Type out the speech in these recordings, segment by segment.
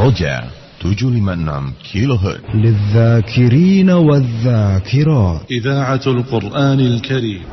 Roja 756 كيلوهرتز للذاكرين والذاكرات إذاعة القرآن الكريم.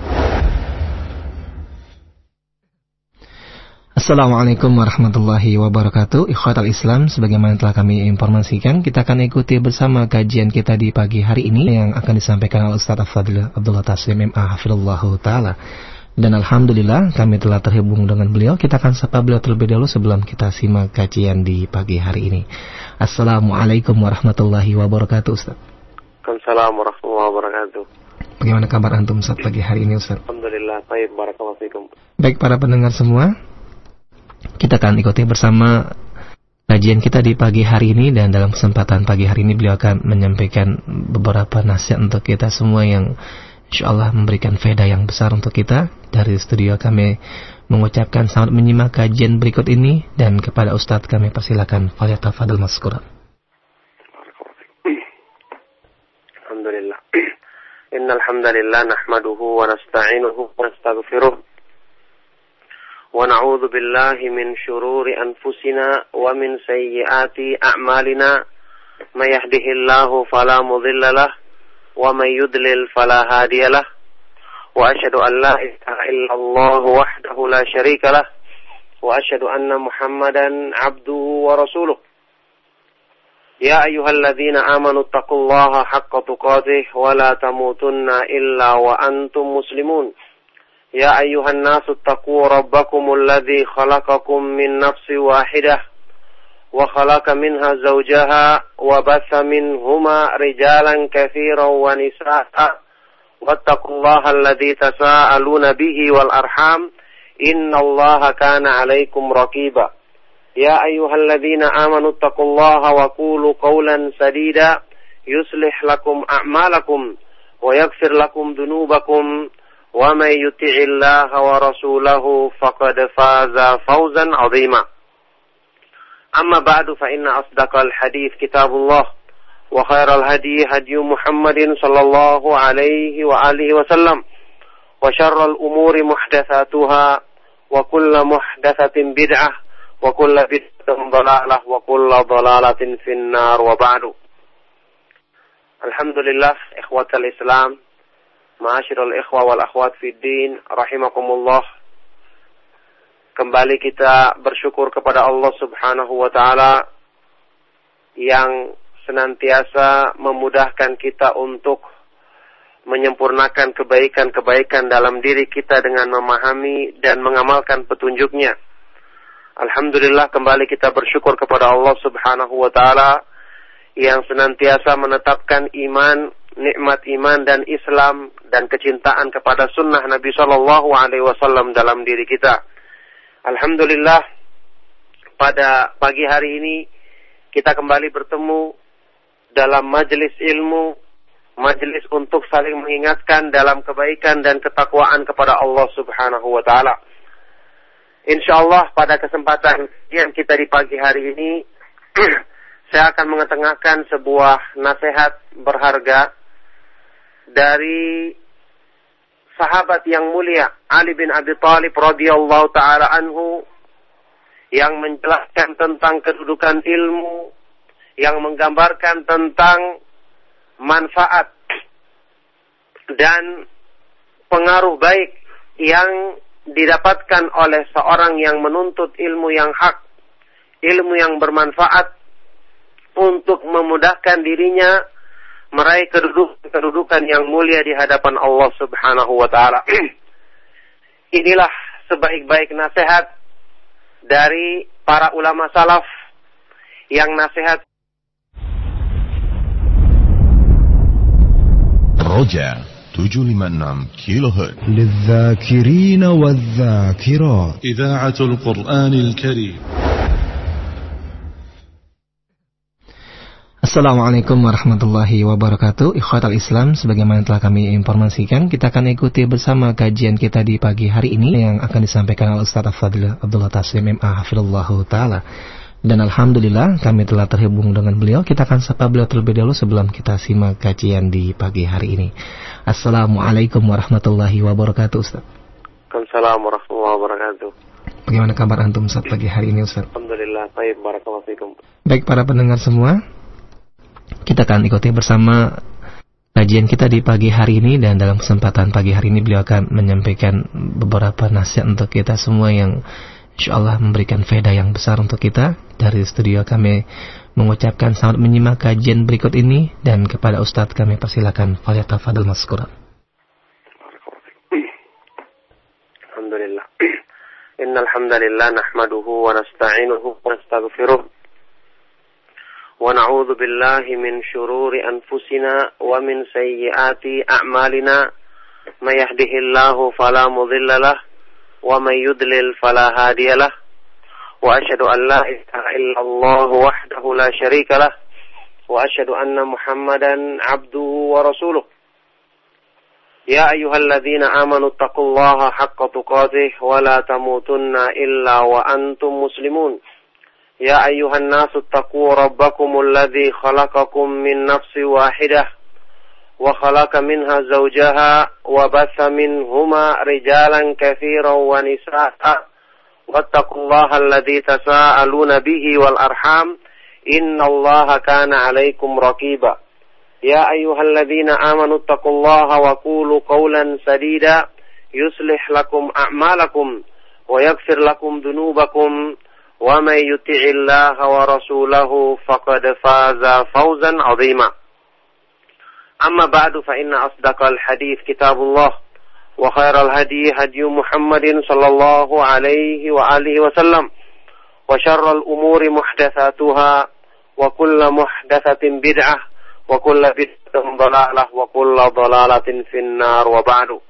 Assalamualaikum warahmatullahi wabarakatuh. Ikhwatal Islam, sebagaimana telah kami informasikan, kita akan ikuti bersama kajian kita di pagi hari ini yang akan disampaikan oleh Ustaz Afadil Abdullah Taslim MA Hafizallahu Ta'ala. Dan Alhamdulillah kami telah terhubung dengan beliau. Kita akan sapa beliau terlebih dahulu sebelum kita simak kajian di pagi hari ini. Assalamualaikum warahmatullahi wabarakatuh, Ustaz. Waalaikumsalam warahmatullahi wabarakatuh. Bagaimana kabar antum Ustaz pagi hari ini, Ustaz? Alhamdulillah, baik, barakallahu fikum. Baik para pendengar semua, kita akan ikuti bersama kajian kita di pagi hari ini, dan dalam kesempatan pagi hari ini beliau akan menyampaikan beberapa nasihat untuk kita semua yang insyaallah memberikan faedah yang besar untuk kita. Dari studio kami mengucapkan selamat menyimak kajian berikut ini, dan kepada Ustadz kami persilakan falyatafadhal mazkuran. Alhamdulillah. Innal hamdalillah nahmaduhu wa nasta'inuhu wa nastaghfiruh. ونعوذ بالله من شرور أنفسنا ومن سيئات أعمالنا من يهده الله فلا مضل له ومن يضلل فلا هادي له وأشهد أن لا إله إلا الله وحده لا شريك له وأشهد أن محمدا عبده ورسوله يا أيها الذين آمنوا اتقوا الله حق تقاته ولا تموتن إلا وأنتم مسلمون يا أيها الناس اتقوا ربكم الذي خلقكم من نفس واحدة وخلق منها زوجها وبث منهما رجالا كثيرا ونساء واتقوا الله الذي تساءلون به والأرحام إن الله كان عليكم رقيبا يا أيها الذين آمنوا اتقوا الله وقولوا قولا سديدا يصلح لكم أعمالكم ويغفر لكم ذنوبكم ومن يطع الله ورسوله فقد فاز فوزا عظيما أما بعد فإن أصدق الحديث كتاب الله وخير الهدي هدي محمد صلى الله عليه وآله وسلم وشر الأمور محدثاتها وكل محدثة بدعة وكل بدعة ضلالة وكل ضلالة في النار وبعد. Alhamdulillah, ikhwatal Islam, ma'asyiral ikhwa wal akhwat fid din, rahimakumullah. Kembali kita bersyukur kepada Allah Subhanahu wa taala yang senantiasa memudahkan kita untuk menyempurnakan kebaikan-kebaikan dalam diri kita dengan memahami dan mengamalkan petunjuknya. Alhamdulillah, kembali kita bersyukur kepada Allah Subhanahu wa taala yang senantiasa menetapkan iman, nikmat iman dan Islam dan kecintaan kepada sunnah Nabi Shallallahu Alaihi Wasallam dalam diri kita. Alhamdulillah, pada pagi hari ini kita kembali bertemu dalam majelis ilmu, majelis untuk saling mengingatkan dalam kebaikan dan ketakwaan kepada Allah Subhanahu Wa Taala. Insyaallah pada kesempatan yang kita di pagi hari ini saya akan mengetengahkan sebuah nasihat berharga dari sahabat yang mulia Ali bin Abi Thalib radhiyallahu taala anhu, yang menjelaskan tentang kedudukan ilmu, yang menggambarkan tentang manfaat dan pengaruh baik yang didapatkan oleh seorang yang menuntut ilmu yang hak, ilmu yang bermanfaat untuk memudahkan dirinya meraih kedudukan yang mulia di hadapan Allah Subhanahu wa taala. Inilah sebaik-baik nasihat dari para ulama salaf yang nasihat Roja 756 كيلوهرتز للذاكرين والذاكرات إذاعة القرآن الكريم. Assalamualaikum warahmatullahi wabarakatuh. Ikhwatal Islam, sebagaimana telah kami informasikan, kita akan ikuti bersama kajian kita di pagi hari ini yang akan disampaikan oleh Ustaz Afadil Abdullah Taslim MA Hafizallahu Ta'ala. Dan Alhamdulillah kami telah terhubung dengan beliau. Kita akan sapa beliau terlebih dahulu sebelum kita simak kajian di pagi hari ini. Assalamualaikum warahmatullahi wabarakatuh, Ustaz. Waalaikumsalam warahmatullahi wabarakatuh. Bagaimana kabar antum Ustaz pagi hari ini, Ustaz? Alhamdulillah, Alhamdulillah. Baik, barakallahu fikum. Baik para pendengar semua, kita akan ikuti bersama kajian kita di pagi hari ini, dan dalam kesempatan pagi hari ini beliau akan menyampaikan beberapa nasihat untuk kita semua yang insyaallah memberikan faedah yang besar untuk kita. Dari studio kami mengucapkan selamat menyimak kajian berikut ini, dan kepada Ustadz kami persilakan falyatafadhal mazkura. Alhamdulillah. Innal hamdalillah nahmaduhu wa nasta'inuhu wa nastaghfiruh wa na'udzu billahi min shururi anfusina wa min sayyiati a'malina. May yahdihillahu fala mudilla lahu wa may yudlil fala hadiya lahu. Wa asyhadu an la ilaha illallah wahdahu la syarika lah wa asyhadu anna Muhammadan abduhu wa rasuluh. Ya ayyuhalladzina amanu taqullaha haqqa tuqatih wa la tamutunna illa wa antum muslimun. Ya ayyuhan nasu taqu rabbakumul ladzi khalaqakum min nafsin wahidah wa khalaqa minha zawjaha wa batha minhuma rijalan katsiran wa nisaa'a wattaqullaha alladzi tasaaluna bihi wal arham innallaha kana 'alaikum raqiba. Ya ayyuhalladzina amanu taqullaha wa qulu qawlan sadida yuslih lakum a'malakum wa yaghfir lakum dhunubakum wa may yuti'illaha wa rasulahu faqad faza fawzan 'azima. Amma ba'du fa inna asdaqal hadits kitabullah wa khairal hadi hadi Muhammadin sallallahu alaihi wa alihi wasallam wa syarrul umuri muhdatsatuha wa kullu muhdatsatin bid'ah wa kullu bid'atin dhalalah wa kullu dhalalatin finnar wa ba'du.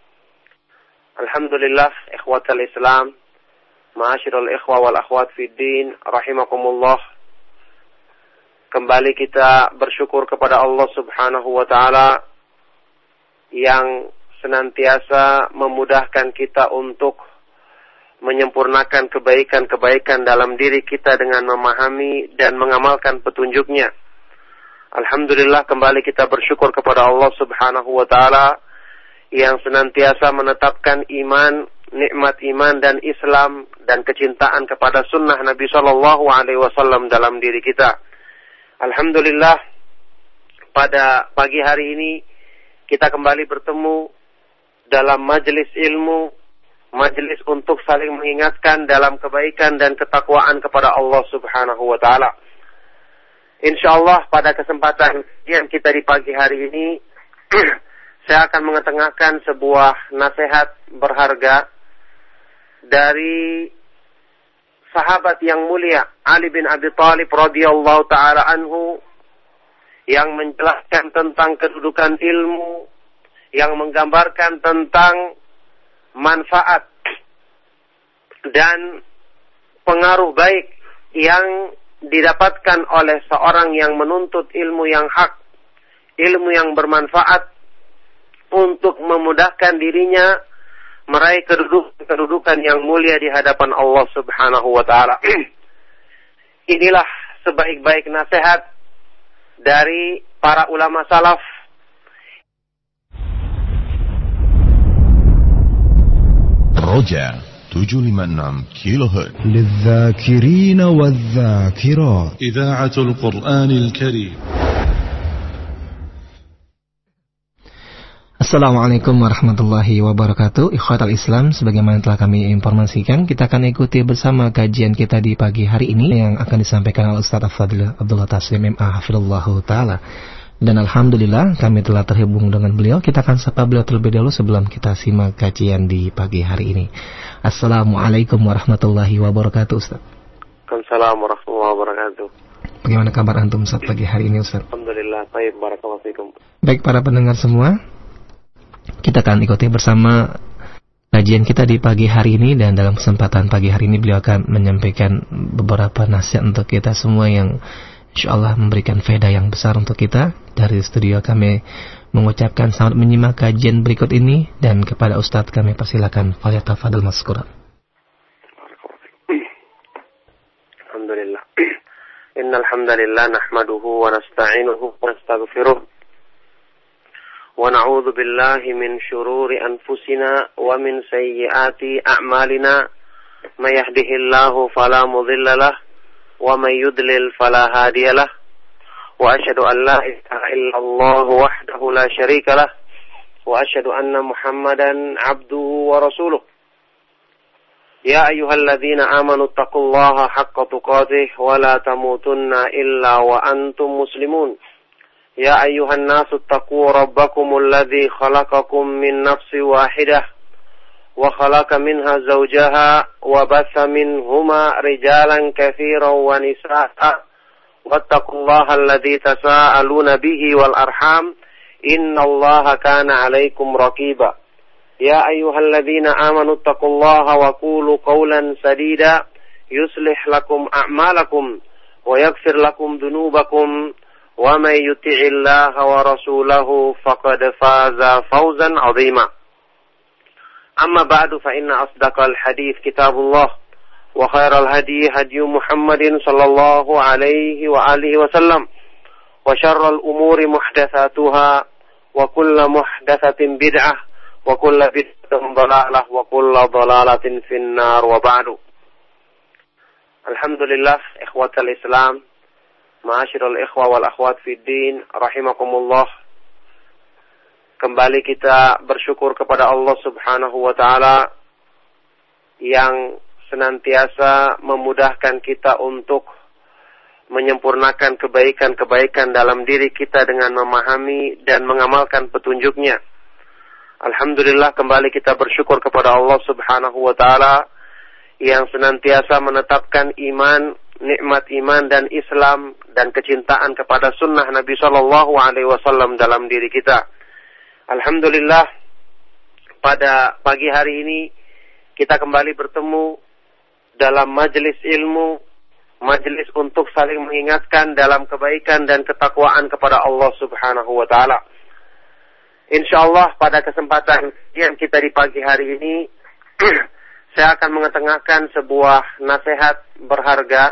Alhamdulillah ikhwatal Islam, ma'asyiral ikhwa wal akhwat fid din rahimakumullah. Kembali kita bersyukur kepada Allah Subhanahu wa taala yang senantiasa memudahkan kita untuk menyempurnakan kebaikan-kebaikan dalam diri kita dengan memahami dan mengamalkan petunjuknya. Alhamdulillah kembali kita bersyukur kepada Allah Subhanahu wa taala yang senantiasa menetapkan iman, nikmat iman dan Islam dan kecintaan kepada sunnah Nabi sallallahu alaihi wasallam dalam diri kita. Alhamdulillah pada pagi hari ini kita kembali bertemu dalam majelis ilmu, majelis untuk saling mengingatkan dalam kebaikan dan ketakwaan kepada Allah Subhanahu wa taala. Insyaallah pada kesempatan yang kita di pagi hari ini saya akan mengetengahkan sebuah nasihat berharga dari sahabat yang mulia Ali bin Abi Thalib radhiyallahu taala anhu yang menjelaskan tentang kedudukan ilmu, yang menggambarkan tentang manfaat dan pengaruh baik yang didapatkan oleh seorang yang menuntut ilmu yang hak, ilmu yang bermanfaat untuk memudahkan dirinya meraih kedudukan yang mulia di hadapan Allah Subhanahu wa taala. Inilah sebaik-baik nasihat dari para ulama salaf. Roja 756 kHz للذاكرين والذاكرات إذاعة القرآن الكريم. Assalamualaikum warahmatullahi wabarakatuh. Ikhwatal Islam, sebagaimana telah kami informasikan, kita akan ikuti bersama kajian kita di pagi hari ini yang akan disampaikan oleh Ustadz Abdullah Taslim MA hafizallahu taala. Dan alhamdulillah kami telah terhubung dengan beliau. Kita akan sapa beliau terlebih dahulu sebelum kita simak kajian di pagi hari ini. Assalamualaikum warahmatullahi wabarakatuh, Ustaz. Waalaikumsalam warahmatullahi wabarakatuh. Bagaimana kabar antum Ustaz pagi hari ini, Ustaz? Alhamdulillah, baik, barakallahu fikum. Baik para pendengar semua, kita akan ikuti bersama kajian kita di pagi hari ini, dan dalam kesempatan pagi hari ini beliau akan menyampaikan beberapa nasihat untuk kita semua yang insyaallah memberikan faedah yang besar untuk kita. Dari studio kami mengucapkan selamat menyimak kajian berikut ini, dan kepada Ustadz kami persilakan falyatafadhal mazkura. Alhamdulillah. Innal hamdalillah nahmaduhu wa nasta'inuhu wa nastaghfiruh wa na'udzu billahi min shururi anfusina wa min sayyiati a'malina. May yahdihillahu fala mudilla lahu ومن يضلل فلا هادي له وأشهد أن لا إله إلا الله وحده لا شريك له وأشهد أن محمدا عبده ورسوله يا أيها الذين آمنوا اتقوا الله حق تقاته ولا تموتن إلا وأنتم مسلمون يا أيها الناس اتقوا ربكم الذي خلقكم من نفس واحدة وخلق منها زوجها وبث منهما رجالا كثيرا ونساء واتقوا الله الذي تساءلون به والأرحام إن الله كان عليكم رقيبا يا أيها الذين آمنوا اتقوا الله وقولوا قولا سديدا يصلح لكم أعمالكم ويغفر لكم ذنوبكم ومن يطع الله ورسوله فقد فاز فوزا عظيما أما بعد فإن أصدق الحديث كتاب الله وخير الهدي هدي محمد صلى الله عليه وآله وسلم وشر الأمور محدثاتها وكل محدثة بدعة وكل بدعة ضلالة وكل ضلالة في النار وبعد. Alhamdulillah, ikhwatal Islam, ma'asyiral ikhwa wal akhwat fid din, rahimakumullah. Kembali kita bersyukur kepada Allah Subhanahu wa taala yang senantiasa memudahkan kita untuk menyempurnakan kebaikan-kebaikan dalam diri kita dengan memahami dan mengamalkan petunjuknya. Alhamdulillah, kembali kita bersyukur kepada Allah Subhanahu wa taala yang senantiasa menetapkan iman, nikmat iman dan Islam dan kecintaan kepada sunnah Nabi sallallahu alaihi wasallam dalam diri kita. Alhamdulillah, pada pagi hari ini kita kembali bertemu dalam majelis ilmu, majelis untuk saling mengingatkan dalam kebaikan dan ketakwaan kepada Allah Subhanahu wa taala. Insyaallah pada kesempatan yang kita di pagi hari ini saya akan mengetengahkan sebuah nasihat berharga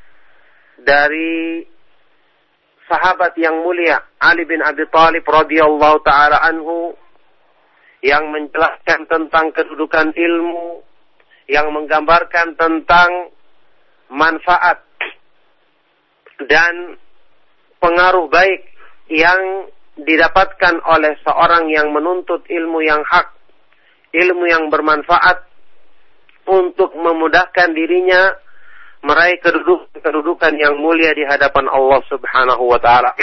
dari sahabat yang mulia Ali bin Abi Thalib radhiyallahu taala anhu yang menjelaskan tentang kedudukan ilmu, yang menggambarkan tentang manfaat dan pengaruh baik yang didapatkan oleh seorang yang menuntut ilmu yang hak, ilmu yang bermanfaat untuk memudahkan dirinya meraih kedudukan yang mulia di hadapan Allah Subhanahu wa taala.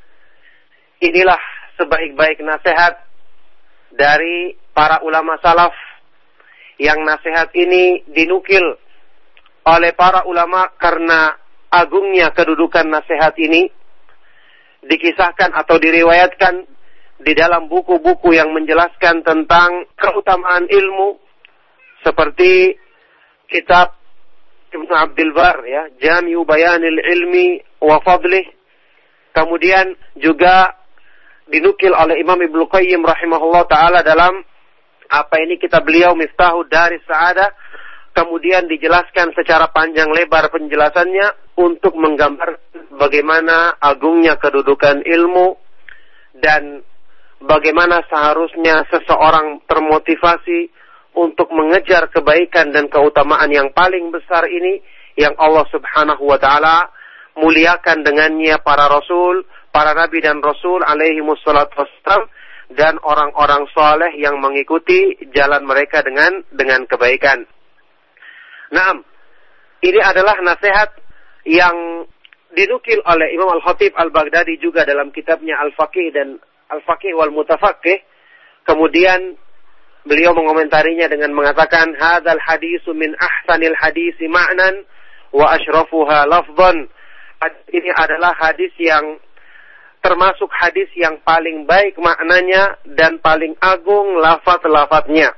Inilah sebaik-baik nasihat dari para ulama salaf, yang nasihat ini dinukil oleh para ulama karena agungnya kedudukan nasihat ini. Dikisahkan atau diriwayatkan di dalam buku-buku yang menjelaskan tentang keutamaan ilmu, seperti kitab Ibnu Abdul Bar, ya, Jami'u Bayanil Ilmi wa Fadlih. Kemudian juga dinukil oleh Imam Ibnu Qayyim rahimahullah taala dalam kitab beliau Miftahud Daris Sa'adah. Kemudian dijelaskan secara panjang lebar penjelasannya untuk menggambar bagaimana agungnya kedudukan ilmu dan bagaimana seharusnya seseorang termotivasi untuk mengejar kebaikan dan keutamaan yang paling besar ini yang Allah Subhanahu wa taala muliakan dengannya para rasul, para nabi dan rasul alaihi wassalatu wassalam dan orang-orang saleh yang mengikuti jalan mereka dengan kebaikan. Naam, ini adalah nasihat yang dinukil oleh Imam Al-Khatib Al-Baghdadi juga dalam kitabnya Al-Faqih dan Al-Faqih wal Mutafaqih. Kemudian beliau mengomentarinya dengan mengatakan, hadzal hadisu min ahsanil hadisi ma'nan wa asyrafuha lafdhan. Ini adalah hadis yang termasuk hadis yang paling baik maknanya dan paling agung lafaz-lafaznya.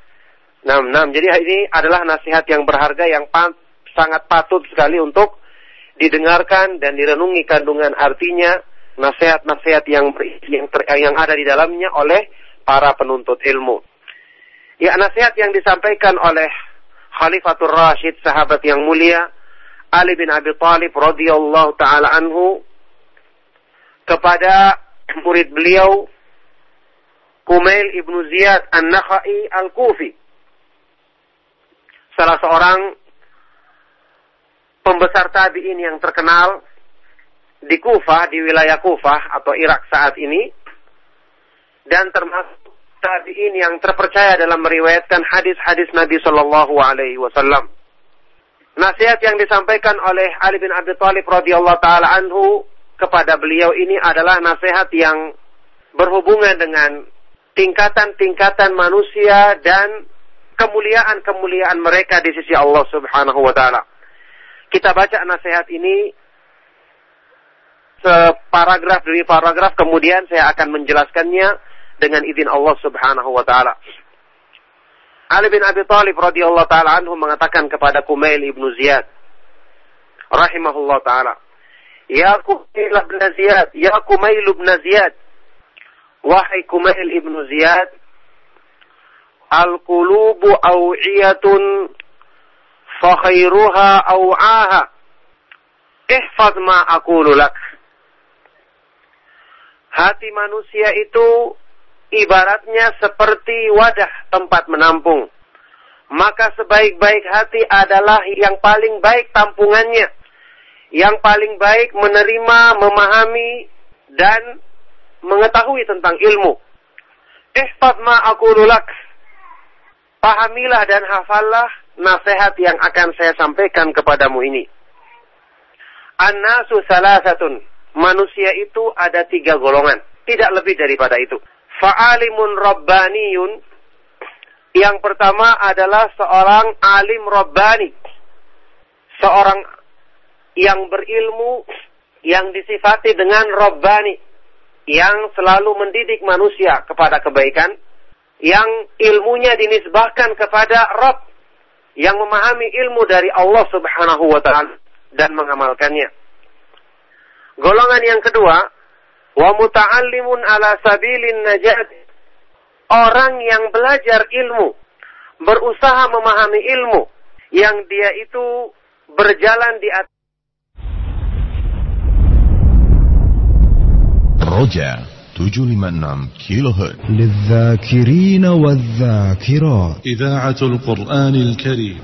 Jadi ini adalah nasihat yang berharga yang sangat patut sekali untuk didengarkan dan direnungi kandungan artinya, nasihat-nasihat yang ada di dalamnya oleh para penuntut ilmu. Ya, nasihat yang disampaikan oleh Khalifatul Rashid, sahabat yang mulia Ali bin Abi Thalib radhiyallahu taala anhu kepada murid beliau Kumail ibnu Ziyad An-Nakhai Al-Kufi, salah seorang pembesar tabi'in yang terkenal di Kufah, di wilayah Kufah atau Irak saat ini, dan termasuk tabi'in yang terpercaya dalam meriwayatkan hadis-hadis Nabi Shallallahu Alaihi Wasallam. Nasihat yang disampaikan oleh Ali bin Abi Thalib radhiyallahu taala anhu kepada beliau ini adalah nasihat yang berhubungan dengan tingkatan-tingkatan manusia dan kemuliaan-kemuliaan mereka di sisi Allah Subhanahu wa taala. Kita baca nasihat ini separagraf demi paragraf, kemudian saya akan menjelaskannya dengan izin Allah Subhanahu wa taala. Ali bin Abi Thalib radhiyallahu taala anhu mengatakan kepada Kumail ibnu Ziyad rahimahullah taala, "Ya Kumail ibn Ziyad, ya Kumail ibn Ziyad, wahai Kumail ibnu Ziyad, al-qulubu aw'iyatun fa khairuha aw'aha. Ihfaz ma aqulu lak." Hati manusia itu ibaratnya seperti wadah tempat menampung. Maka sebaik-baik hati adalah yang paling baik tampungannya, yang paling baik menerima, memahami, dan mengetahui tentang ilmu. Ihfaz ma aqulu lak. Pahamilah dan hafallah nasihat yang akan saya sampaikan kepadamu ini. An-nasu salasatun. Manusia itu ada 3 golongan, tidak lebih daripada itu. Fa'alimun rabbaniyun. Yang pertama adalah seorang alim rabbani. Seorang yang berilmu, yang disifati dengan rabbani, yang selalu mendidik manusia kepada kebaikan, yang ilmunya dinisbahkan kepada Rabb, yang memahami ilmu dari Allah Subhanahu wa ta'ala dan mengamalkannya. Golongan yang kedua, wa muta'allimun ala sabilin najat. Orang yang belajar ilmu, berusaha memahami ilmu, yang dia itu berjalan di atas Roja 756 كيلوهرتز للذاكرين والذاكرات إذاعة القرآن الكريم.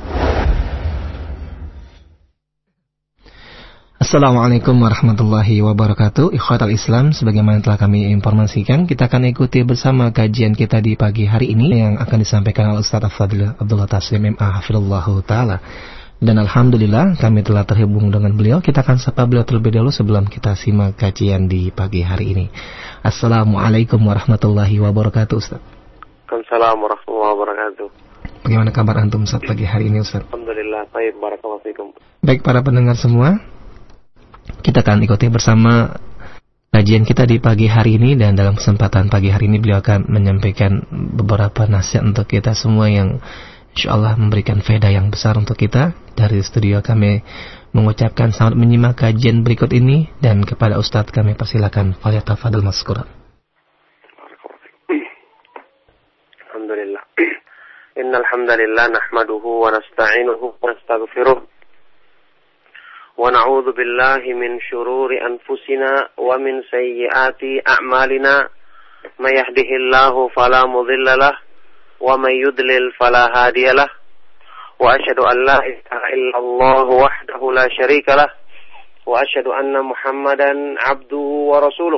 Assalamualaikum warahmatullahi wabarakatuh. Ikhwatal Islam, sebagaimana telah kami informasikan, kita akan ikuti bersama kajian kita di pagi hari ini yang akan disampaikan oleh Ustaz Al-Fadhil Abdullah Taslim MA hafizallahu taala. Dan alhamdulillah kami telah terhubung dengan beliau. Kita akan sapa beliau terlebih dahulu sebelum kita simak kajian di pagi hari ini. Assalamualaikum warahmatullahi wabarakatuh, Ustaz. Waalaikumsalam warahmatullahi wabarakatuh. Bagaimana kabar antum Ustaz pagi hari ini, Ustaz? Alhamdulillah, baik, barakallahu fikum. Baik para pendengar semua, kita akan ikuti bersama kajian kita di pagi hari ini, dan dalam kesempatan pagi hari ini beliau akan menyampaikan beberapa nasihat untuk kita semua yang insyaallah memberikan faedah yang besar untuk kita. Dari studio kami mengucapkan selamat menyimak kajian berikut ini, dan kepada Ustadz kami persilakan falyatafadhal mazkuran. Alhamdulillah. Innal hamdalillah nahmaduhu wa nasta'inuhu wa nastaghfiruh. ونعوذ بالله من شرور أنفسنا ومن سيئات أعمالنا من يهده الله فلا مضل له ومن يضلل فلا هادي له وأشهد أن لا إله إلا الله وحده لا شريك له وأشهد أن محمدا عبده ورسوله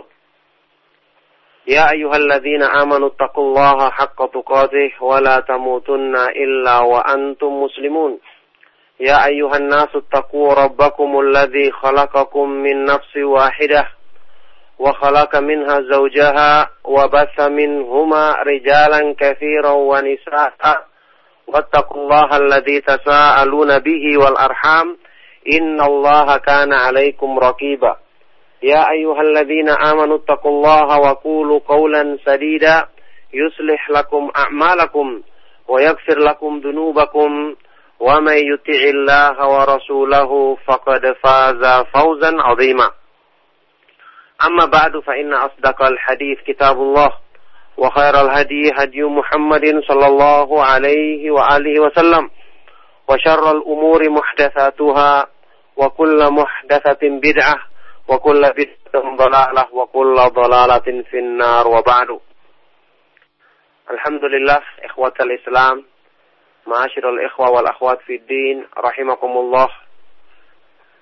يا أيها الذين آمنوا اتقوا الله حق تقاته ولا تموتن إلا وأنتم مسلمون يا أيها الناس اتقوا ربكم الذي خلقكم من نفس واحدة وخلق منها زوجها وبث منهما رجالا كثيرا ونساء واتقوا الله الذي تساءلون به والأرحام إن الله كان عليكم رقيبا يا أيها الذين آمنوا اتقوا الله وقولوا قولا سديدا يصلح لكم أعمالكم ويغفر لكم ذنوبكم ومن يطع الله ورسوله فقد فاز فوزا عظيما أما بعد فإن أصدق الحديث كتاب الله وخير الهدي هدي محمد صلى الله عليه وآله وسلم وشر الأمور محدثاتها وكل محدثة بدعة وكل بدعة ضلالة وكل ضلالة في النار وبعد. Alhamdulillah, ikhwatal Islam, ma'asyiral ikhwa wal akhwat fid din, rahimakumullah.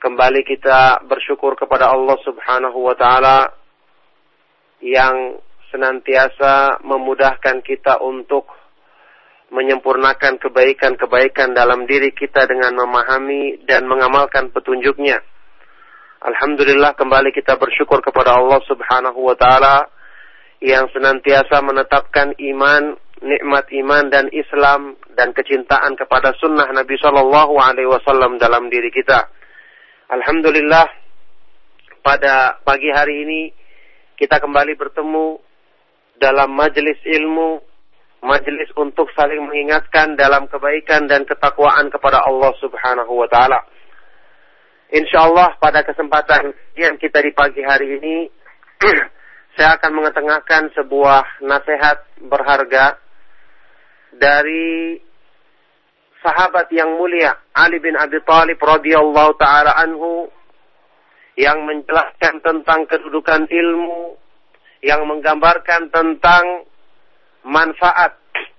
kembali kita bersyukur kepada Allah Subhanahu wa Ta'ala yang senantiasa memudahkan kita untuk menyempurnakan kebaikan-kebaikan dalam diri kita dengan memahami dan mengamalkan petunjuknya. Alhamdulillah, kembali kita bersyukur kepada Allah Subhanahu wa Ta'ala yang senantiasa menetapkan iman, nikmat iman dan Islam dan kecintaan kepada sunnah Nabi Shallallahu Alaihi Wasallam dalam diri kita. Alhamdulillah, pada pagi hari ini kita kembali bertemu dalam majelis ilmu, majelis untuk saling mengingatkan dalam kebaikan dan ketakwaan kepada Allah Subhanahu wa Ta'ala. Insyaallah pada kesempatan yang kita di pagi hari ini saya akan mengetengahkan sebuah nasihat berharga dari sahabat yang mulia Ali bin Abi Thalib radhiyallahu taala anhu yang menjelaskan tentang kedudukan ilmu, yang menggambarkan tentang manfaat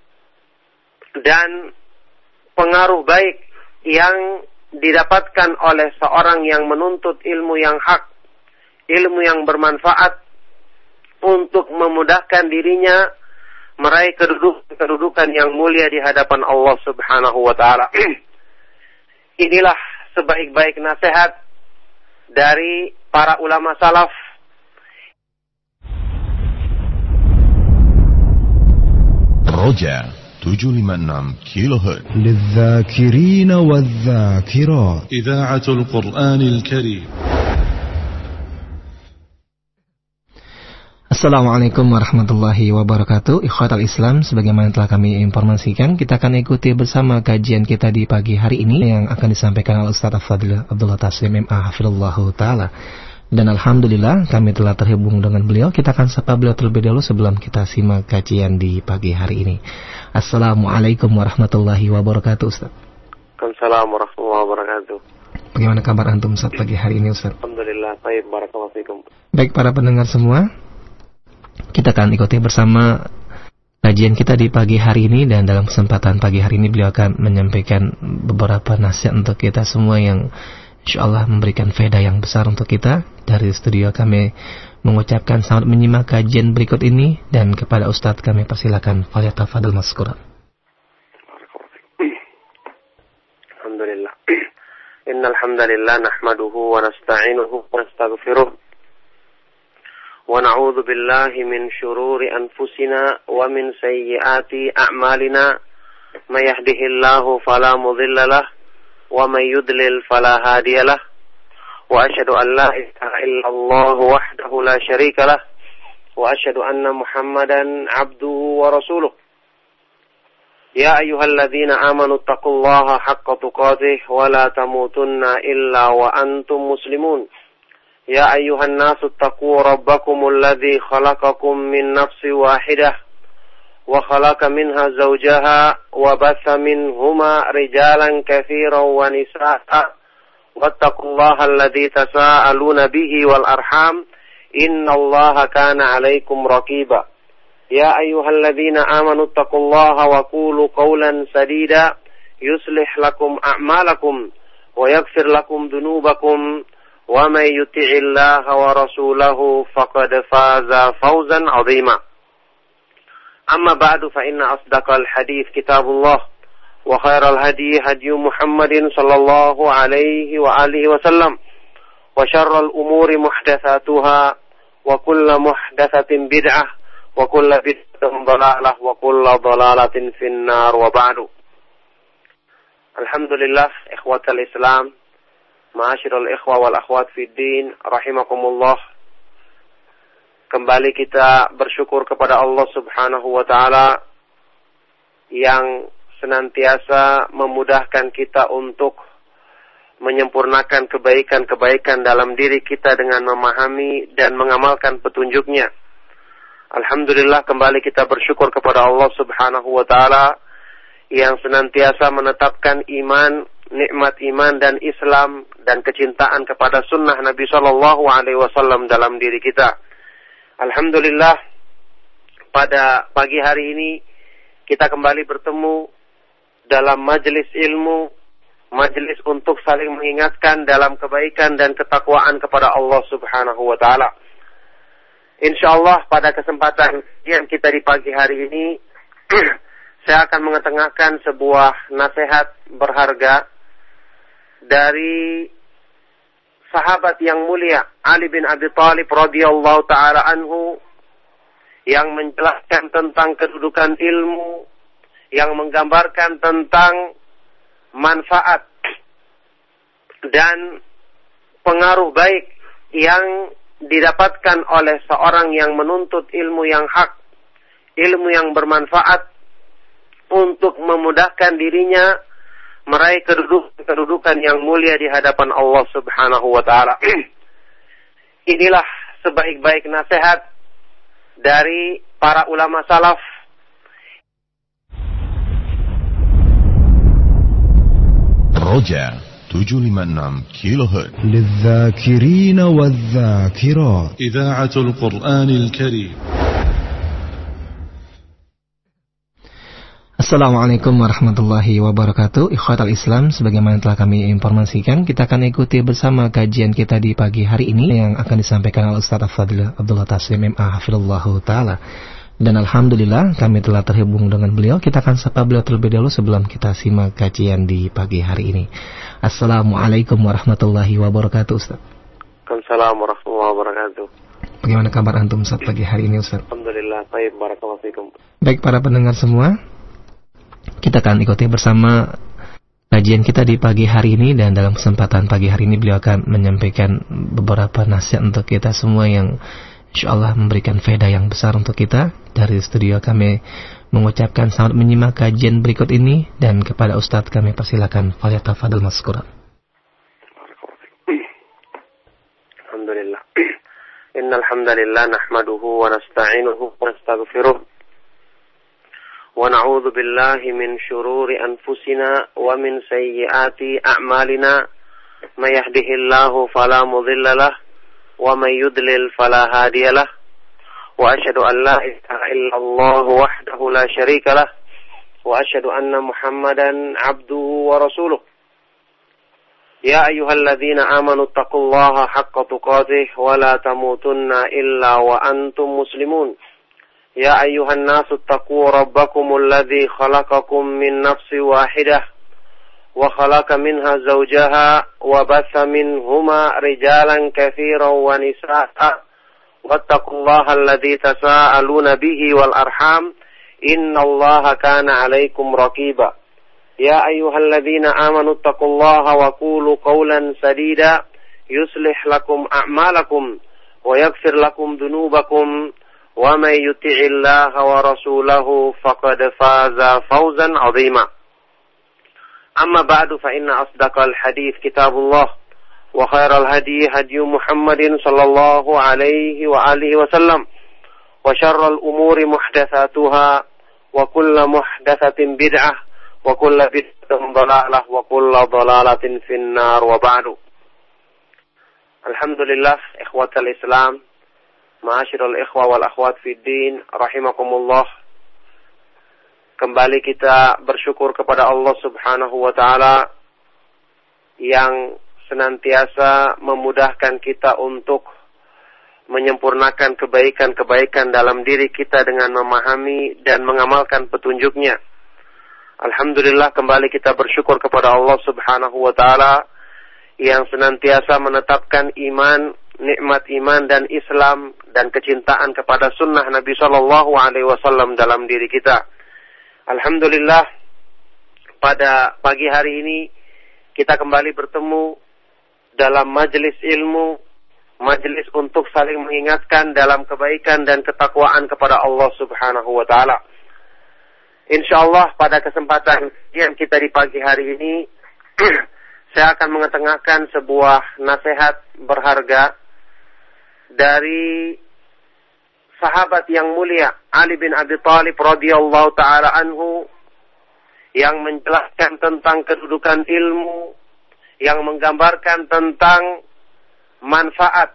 dan pengaruh baik yang didapatkan oleh seorang yang menuntut ilmu yang hak, ilmu yang bermanfaat untuk memudahkan dirinya meraih kedudukan yang mulia di hadapan Allah Subhanahu wa Ta'ala. Inilah sebaik-baik nasihat dari para ulama salaf. Roja 756 kHz للذاكرين والذاكرات إذاعة القرآن الكريم. Assalamualaikum warahmatullahi wabarakatuh. Ikhwatal Islam, sebagaimana telah kami informasikan, kita akan ikuti bersama kajian kita di pagi hari ini yang akan disampaikan oleh Ustaz Fadil Abdullah Taslim MA hafizallahu taala. Dan alhamdulillah kami telah terhubung dengan beliau. Kita akan sapa beliau terlebih dahulu sebelum kita simak kajian di pagi hari ini. Assalamualaikum warahmatullahi wabarakatuh, Ustaz. Waalaikumsalam warahmatullahi wabarakatuh. Bagaimana kabar antum Ustaz pagi hari ini, Ustaz? Alhamdulillah, baik, barakallahu fikum. Baik para pendengar semua, kita akan ikuti bersama kajian kita di pagi hari ini, dan dalam kesempatan pagi hari ini beliau akan menyampaikan beberapa nasihat untuk kita semua yang insyaallah memberikan faedah yang besar untuk kita. Dari studio kami mengucapkan selamat menyimak kajian berikut ini, dan kepada Ustadz kami persilakan, falyatafadhal mazkura. Alhamdulillah. Innal hamdalillah nahmaduhu wa nasta'inuhu wa nastaghfiruh. ونعوذ بالله من شرور أنفسنا ومن سيئات أعمالنا من يهده الله فلا مضل له ومن يضلل فلا هادي له وأشهد أن لا إله إلا الله وحده لا شريك له وأشهد أن محمدا عبده ورسوله يا أيها الذين آمنوا اتقوا الله حق تقاته ولا تموتن إلا وأنتم مسلمون يا أيها الناس اتقوا ربكم الذي خلقكم من نفس واحدة وخلق منها زوجها وبث منهما رجالا كثيرا ونساء واتقوا الله الذي تساءلون به والأرحام إن الله كان عليكم رقيبا يا أيها الذين آمنوا اتقوا الله وقولوا قولا سديدا يصلح لكم أعمالكم ويغفر لكم ذنوبكم ومن يطع الله ورسوله فقد فاز فوزا عظيما أما بعد فإن أصدق الحديث كتاب الله وخير الهدي هدي محمد صلى الله عليه وآله وسلم وشر الأمور محدثاتها وكل محدثة بدعة وكل بدعة ضلالة وكل ضلالة في النار وبعد. Alhamdulillah, ikhwatal Islam, ma'asyiral ikhwa wal akhwat fid din, rahimakumullah. Kembali kita bersyukur kepada Allah Subhanahu wa Ta'ala yang senantiasa memudahkan kita untuk menyempurnakan kebaikan-kebaikan dalam diri kita dengan memahami dan mengamalkan petunjuknya. Alhamdulillah, kembali kita bersyukur kepada Allah Subhanahu wa Ta'ala yang senantiasa menetapkan iman, nikmat iman dan Islam dan kecintaan kepada sunnah Nabi Shallallahu Alaihi Wasallam dalam diri kita. Alhamdulillah, pada pagi hari ini kita kembali bertemu dalam majelis ilmu, majelis majelis untuk saling mengingatkan dalam kebaikan dan ketakwaan kepada Allah Subhanahu wa taala. Insyaallah pada kesempatan yang kita di pagi hari ini saya akan mengetengahkan sebuah nasihat berharga dari sahabat yang mulia Ali bin Abi Thalib radhiyallahu taala anhu, yang menjelaskan tentang kedudukan ilmu, yang menggambarkan tentang manfaat dan pengaruh baik yang didapatkan oleh seorang yang menuntut ilmu yang hak, ilmu yang bermanfaat untuk memudahkan dirinya meraih kedudukan yang mulia di hadapan Allah Subhanahu wa taala. Inilah sebaik-baik nasihat dari para ulama salaf. Roja 756 kHz للذاكرين والذاكرات. إذاعة القرآن الكريم. Assalamualaikum warahmatullahi wabarakatuh. Ikhwatal Islam, sebagaimana telah kami informasikan, kita akan ikuti bersama kajian kita di pagi hari ini yang akan disampaikan oleh Ustaz Al-Fadhil Abdullah Taslim MA hafizallahu taala. Dan alhamdulillah kami telah terhubung dengan beliau. Kita akan sapa beliau terlebih dahulu sebelum kita simak kajian di pagi hari ini. Assalamualaikum warahmatullahi wabarakatuh, Ustaz. Waalaikumsalam warahmatullahi wabarakatuh. Bagaimana kabar antum Ustaz pagi hari ini, Ustaz? Alhamdulillah, baik, barakallahu fikum. Baik para pendengar semua, kita akan ikuti bersama kajian kita di pagi hari ini, dan dalam kesempatan pagi hari ini beliau akan menyampaikan beberapa nasihat untuk kita semua yang insyaallah memberikan faedah yang besar untuk kita. Dari studio kami mengucapkan selamat menyimak kajian berikut ini, dan kepada Ustadz kami persilakan, falyatafadhal mazkura. Alhamdulillah. Innal hamdalillah nahmaduhu wa nasta'inuhu wa nastaghfiruh. ونعوذ بالله من شرور أنفسنا ومن سيئات أعمالنا من يهده الله فلا مضل له ومن يضلل فلا هادي له وأشهد أن لا إله إلا الله وحده لا شريك له وأشهد أن محمدا عبده ورسوله يا أيها الذين آمنوا اتقوا الله حق تقاته ولا تموتن إلا وأنتم مسلمون يا أيها الناس اتقوا ربكم الذي خلقكم من نفس واحدة وخلق منها زوجها وبث منهما رجالا كثيرا ونساء واتقوا الله الذي تساءلون به والأرحام إن الله كان عليكم رقيبا يا أيها الذين آمنوا اتقوا الله وقولوا قولا سديدا يصلح لكم أعمالكم ويغفر لكم ذنوبكم ومن يطع الله ورسوله فقد فاز فوزا عظيما أما بعد فإن أصدق الحديث كتاب الله وخير الهدي هدي محمد صلى الله عليه وآله وسلم وشر الأمور محدثاتها وكل محدثة بدعة وكل بدعة ضلالة وكل ضلالة في النار وبعد. Alhamdulillah, ikhwatal Islam, ma'asyiral ikhwa wal akhwat fid din, rahimakumullah. Kembali kita bersyukur kepada Allah Subhanahu wa taala yang senantiasa memudahkan kita untuk menyempurnakan kebaikan-kebaikan dalam diri kita dengan memahami dan mengamalkan petunjuknya. Alhamdulillah, kembali kita bersyukur kepada Allah Subhanahu wa taala yang senantiasa menetapkan iman, nikmat iman dan Islam dan kecintaan kepada sunnah Nabi Shallallahu Alaihi Wasallam dalam diri kita. Alhamdulillah, pada pagi hari ini kita kembali bertemu dalam majelis ilmu, majelis untuk saling mengingatkan dalam kebaikan dan ketakwaan kepada Allah Subhanahu wa taala. Insyaallah pada kesempatan yang kita di pagi hari ini saya akan mengetengahkan sebuah nasihat berharga dari sahabat yang mulia Ali bin Abi Thalib radhiyallahu taala anhu, yang menjelaskan tentang kedudukan ilmu, yang menggambarkan tentang manfaat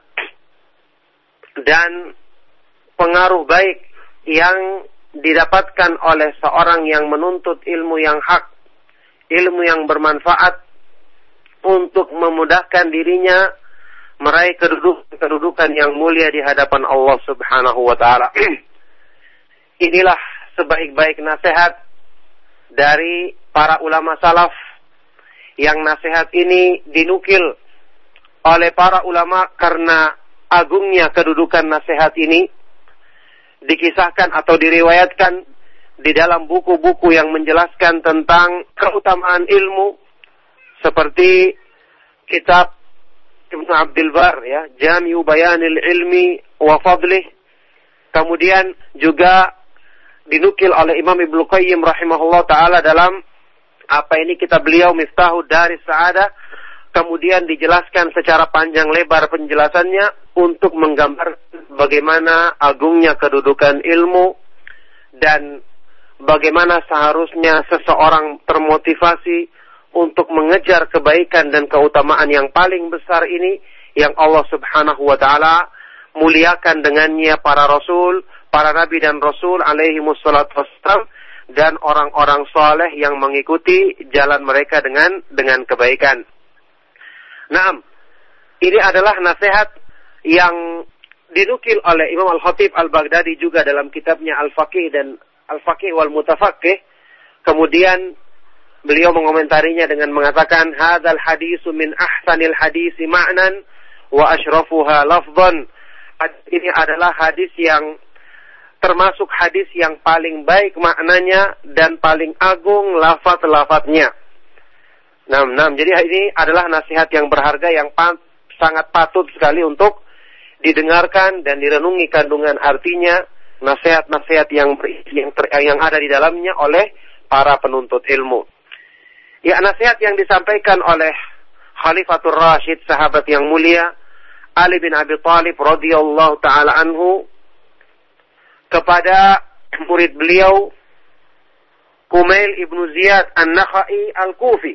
dan pengaruh baik yang didapatkan oleh seorang yang menuntut ilmu yang hak, ilmu yang bermanfaat untuk memudahkan dirinya meraih kedudukan yang mulia di hadapan Allah Subhanahu wa taala. Inilah sebaik-baik nasihat dari para ulama salaf, yang nasihat ini dinukil oleh para ulama karena agungnya kedudukan nasihat ini, dikisahkan atau diriwayatkan di dalam buku-buku yang menjelaskan tentang keutamaan ilmu, seperti kitab Ibnu Abdul Bar, ya, Jami'u Bayanil Ilmi wa Fadlih. Kemudian juga dinukil oleh Imam Ibnu Qayyim rahimahullah taala dalam kitab beliau Miftahud Daris Sa'adah. Kemudian dijelaskan secara panjang lebar penjelasannya untuk menggambarkan bagaimana agungnya kedudukan ilmu dan bagaimana seharusnya seseorang termotivasi untuk mengejar kebaikan dan keutamaan yang paling besar ini, yang Allah Subhanahu wa taala muliakan dengannya para rasul, para nabi dan rasul alaihi wassalatu wassalam, dan orang-orang saleh yang mengikuti jalan mereka dengan kebaikan. Naam, ini adalah nasihat yang dinukil oleh Imam Al-Khatib Al-Baghdadi juga dalam kitabnya Al-Faqih dan Al-Faqih wal Mutafaqih. Kemudian beliau mengomentarinya dengan mengatakan, hadzal hadisu min ahsanil hadisi ma'nan wa asyrafuha lafdhan. Ini adalah hadis yang termasuk hadis yang paling baik maknanya dan paling agung lafaz-lafaznya. Jadi ini adalah nasihat yang berharga yang sangat patut sekali untuk didengarkan dan direnungi kandungan artinya, nasihat-nasihat yang ada di dalamnya oleh para penuntut ilmu. Ya, nasihat yang disampaikan oleh Khalifatul Rashid, sahabat yang mulia Ali bin Abi Thalib radhiyallahu taala anhu, kepada murid beliau Kumail ibnu Ziyad An-Nakhai Al-Kufi,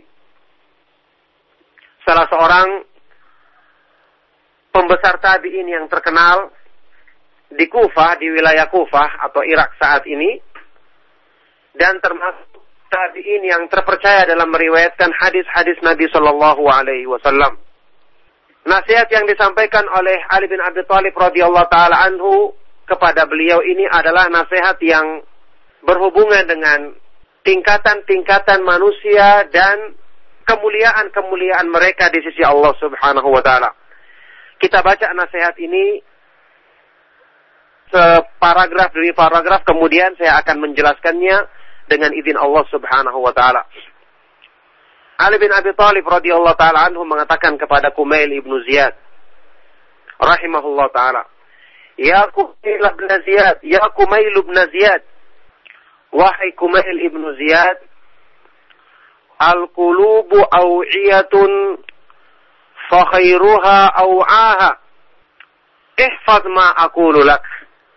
salah seorang pembesar tabi'in yang terkenal di Kufah, di wilayah Kufah atau Irak saat ini, dan termasuk tabi'in yang terpercaya dalam meriwayatkan hadis-hadis Nabi Shallallahu Alaihi Wasallam. Nasihat yang disampaikan oleh Ali bin Abi Thalib radhiyallahu taala anhu kepada beliau ini adalah nasihat yang berhubungan dengan tingkatan-tingkatan manusia dan kemuliaan-kemuliaan mereka di sisi Allah Subhanahu wa taala. Kita baca nasihat ini separagraf demi paragraf, kemudian saya akan menjelaskannya dengan izin Allah Subhanahu wa taala. Ali bin Abi Thalib radhiyallahu taala anhu mengatakan kepada Kumail ibnu Ziyad rahimahullah taala, "Ya Kumail ibn Ziyad, ya Kumail ibn Ziyad, wahai Kumail ibnu Ziyad, al-qulubu aw'iyatun fa khairuha aw'aha. Ihfaz ma aqulu lak."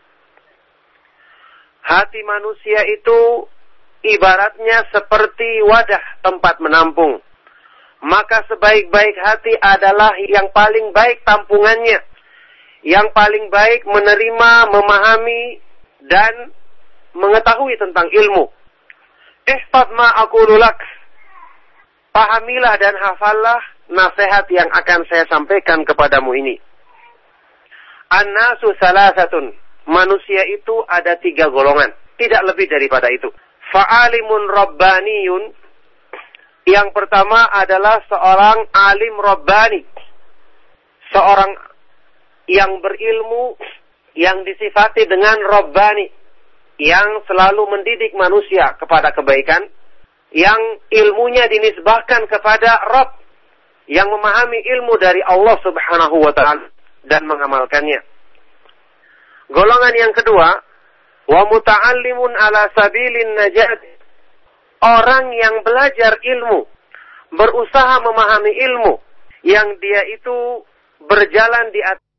Hati manusia itu ibaratnya seperti wadah tempat menampung. Maka sebaik-baik hati adalah yang paling baik tampungannya, yang paling baik menerima, memahami, dan mengetahui tentang ilmu. Ihfaz ma aqulu lak. Pahamilah dan hafallah nasihat yang akan saya sampaikan kepadamu ini. An-nasu salasatun. Manusia itu ada 3 golongan, tidak lebih daripada itu. Fa'alimun rabbaniyun. Yang pertama adalah seorang alim rabbani, seorang yang berilmu, yang disifati dengan rabbani, yang selalu mendidik manusia kepada kebaikan, yang ilmunya dinisbahkan kepada Rabb, yang memahami ilmu dari Allah Subhanahu wa ta'ala dan mengamalkannya. Golongan yang kedua, wa muta'allimun ala sabilin najat. Orang yang belajar ilmu, berusaha memahami ilmu, yang dia itu berjalan di atas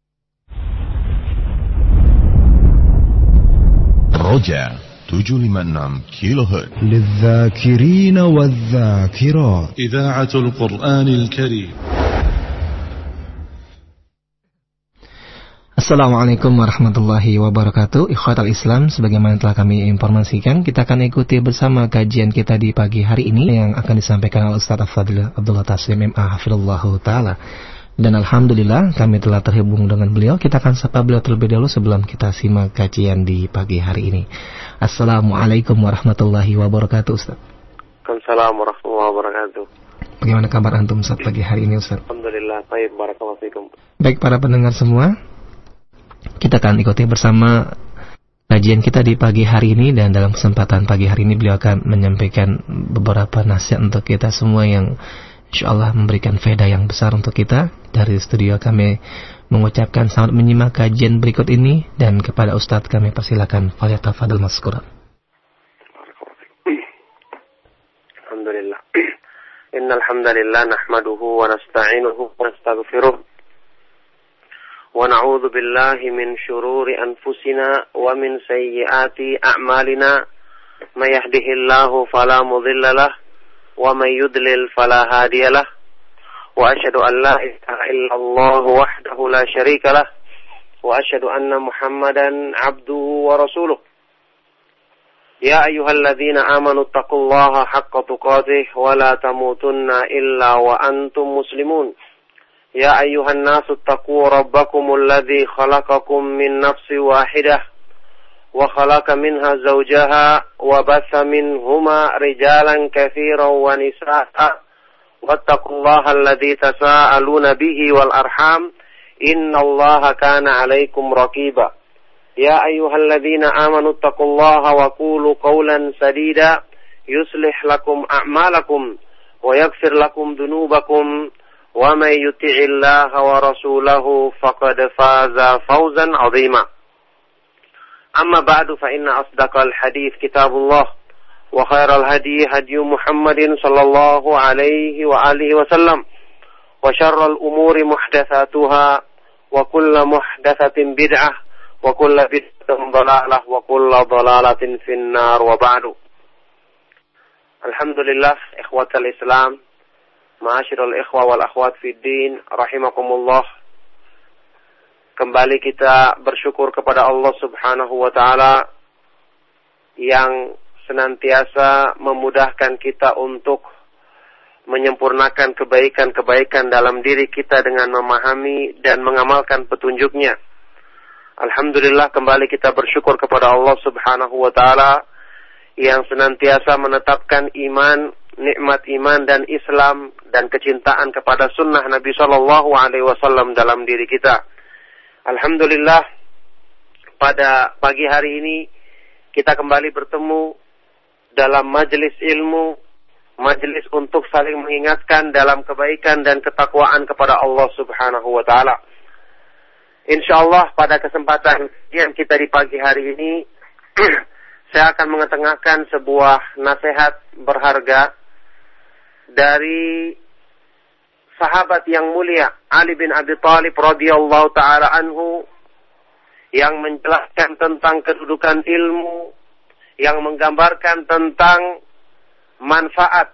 Roja 756 kHz للذاكرين والذاكرات إذاعة القرآن الكريم. Assalamualaikum warahmatullahi wabarakatuh. Ikhwatal Islam, sebagaimana telah kami informasikan, kita akan ikuti bersama kajian kita di pagi hari ini yang akan disampaikan oleh Ustaz Al-Fadil Abdullah Taslim MA hafizallahu taala. Dan alhamdulillah kami telah terhubung dengan beliau. Kita akan sapa beliau terlebih dahulu sebelum kita simak kajian di pagi hari ini. Assalamualaikum warahmatullahi wabarakatuh, Ustaz. Waalaikumsalam warahmatullahi wabarakatuh. Bagaimana kabar antum Ustaz pagi hari ini, Ustaz? Alhamdulillah, baik, barakallahu fikum. Baik para pendengar semua, kita akan ikuti bersama kajian kita di pagi hari ini, dan dalam kesempatan pagi hari ini beliau akan menyampaikan beberapa nasihat untuk kita semua yang insyaallah memberikan faedah yang besar untuk kita. Dari studio kami mengucapkan selamat menyimak kajian berikut ini, dan kepada Ustadz kami persilakan falyatafadhal mazkuran. Alhamdulillah. Innal hamdalillah nahmaduhu wa nasta'inuhu wa nastaghfiruh. ونعوذ بالله من شرور أنفسنا ومن سيئات أعمالنا من يهده الله فلا مضل له ومن يضلل فلا هادي له وأشهد أن لا إله إلا الله وحده لا شريك له وأشهد أن محمدا عبده ورسوله يا أيها الذين آمنوا اتقوا الله حق تقاته ولا تموتن إلا وأنتم مسلمون يا أيها الناس اتقوا ربكم الذي خلقكم من نفس واحدة وخلق منها زوجها وبث منهما رجالا كثيرا ونساء واتقوا الله الذي تساءلون به والأرحام إن الله كان عليكم رقيبا يا أيها الذين آمنوا اتقوا الله وقولوا قولا سديدا يصلح لكم أعمالكم ويغفر لكم ذنوبكم ومن يطع الله ورسوله فقد فاز فوزا عظيما أما بعد فإن أصدق الحديث كتاب الله وخير الهدي هدي محمد صلى الله عليه وآله وسلم وشر الأمور محدثاتها وكل محدثة بدعة وكل بدعة ضلالة وكل ضلالة في النار وبعد. Alhamdulillah, ikhwatal Islam, ma'asyiral ikhwa wal akhwat fid din, rahimakumullah. Kembali kita bersyukur kepada Allah Subhanahu wa taala yang senantiasa memudahkan kita untuk menyempurnakan kebaikan-kebaikan dalam diri kita dengan memahami dan mengamalkan petunjuknya. Alhamdulillah, kembali kita bersyukur kepada Allah Subhanahu wa taala yang senantiasa menetapkan iman, nikmat iman dan Islam dan kecintaan kepada sunnah Nabi Shallallahu Alaihi Wasallam dalam diri kita. Alhamdulillah, pada pagi hari ini kita kembali bertemu dalam majelis ilmu, majelis untuk saling mengingatkan dalam kebaikan dan ketakwaan kepada Allah Subhanahu wa taala. Insyaallah pada kesempatan yang kita di pagi hari ini saya akan mengetengahkan sebuah nasihat berharga dari sahabat yang mulia Ali bin Abi Thalib radhiyallahu taala anhu, yang menjelaskan tentang kedudukan ilmu, yang menggambarkan tentang manfaat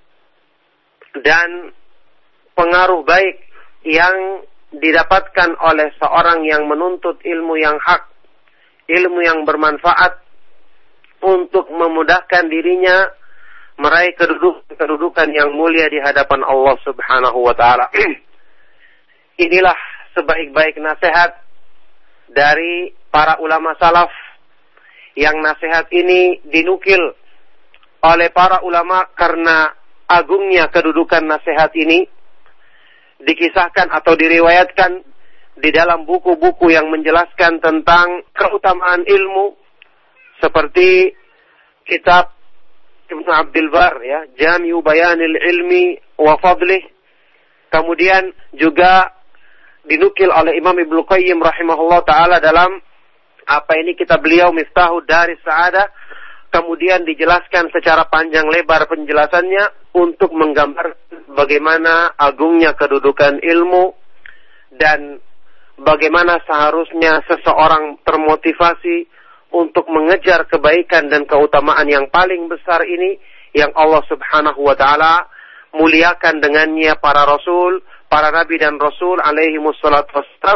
dan pengaruh baik yang didapatkan oleh seorang yang menuntut ilmu yang hak, ilmu yang bermanfaat untuk memudahkan dirinya meraih kedudukan yang mulia di hadapan Allah Subhanahu wa taala. Inilah sebaik-baik nasihat dari para ulama salaf, yang nasihat ini dinukil oleh para ulama karena agungnya kedudukan nasihat ini, dikisahkan atau diriwayatkan di dalam buku-buku yang menjelaskan tentang keutamaan ilmu, seperti kitab Ibnu Abdul Bar, ya, Jami'u Bayanil Ilmi wa Fadlih. Kemudian juga dinukil oleh Imam Ibnu Qayyim rahimahullah taala dalam kitab beliau Miftahud Daris Sa'adah. Kemudian dijelaskan secara panjang lebar penjelasannya untuk menggambar bagaimana agungnya kedudukan ilmu dan bagaimana seharusnya seseorang termotivasi untuk mengejar kebaikan dan keutamaan yang paling besar ini, yang Allah Subhanahu wa taala muliakan dengannya para rasul, para nabi dan rasul alaihi wassalatu wassalam,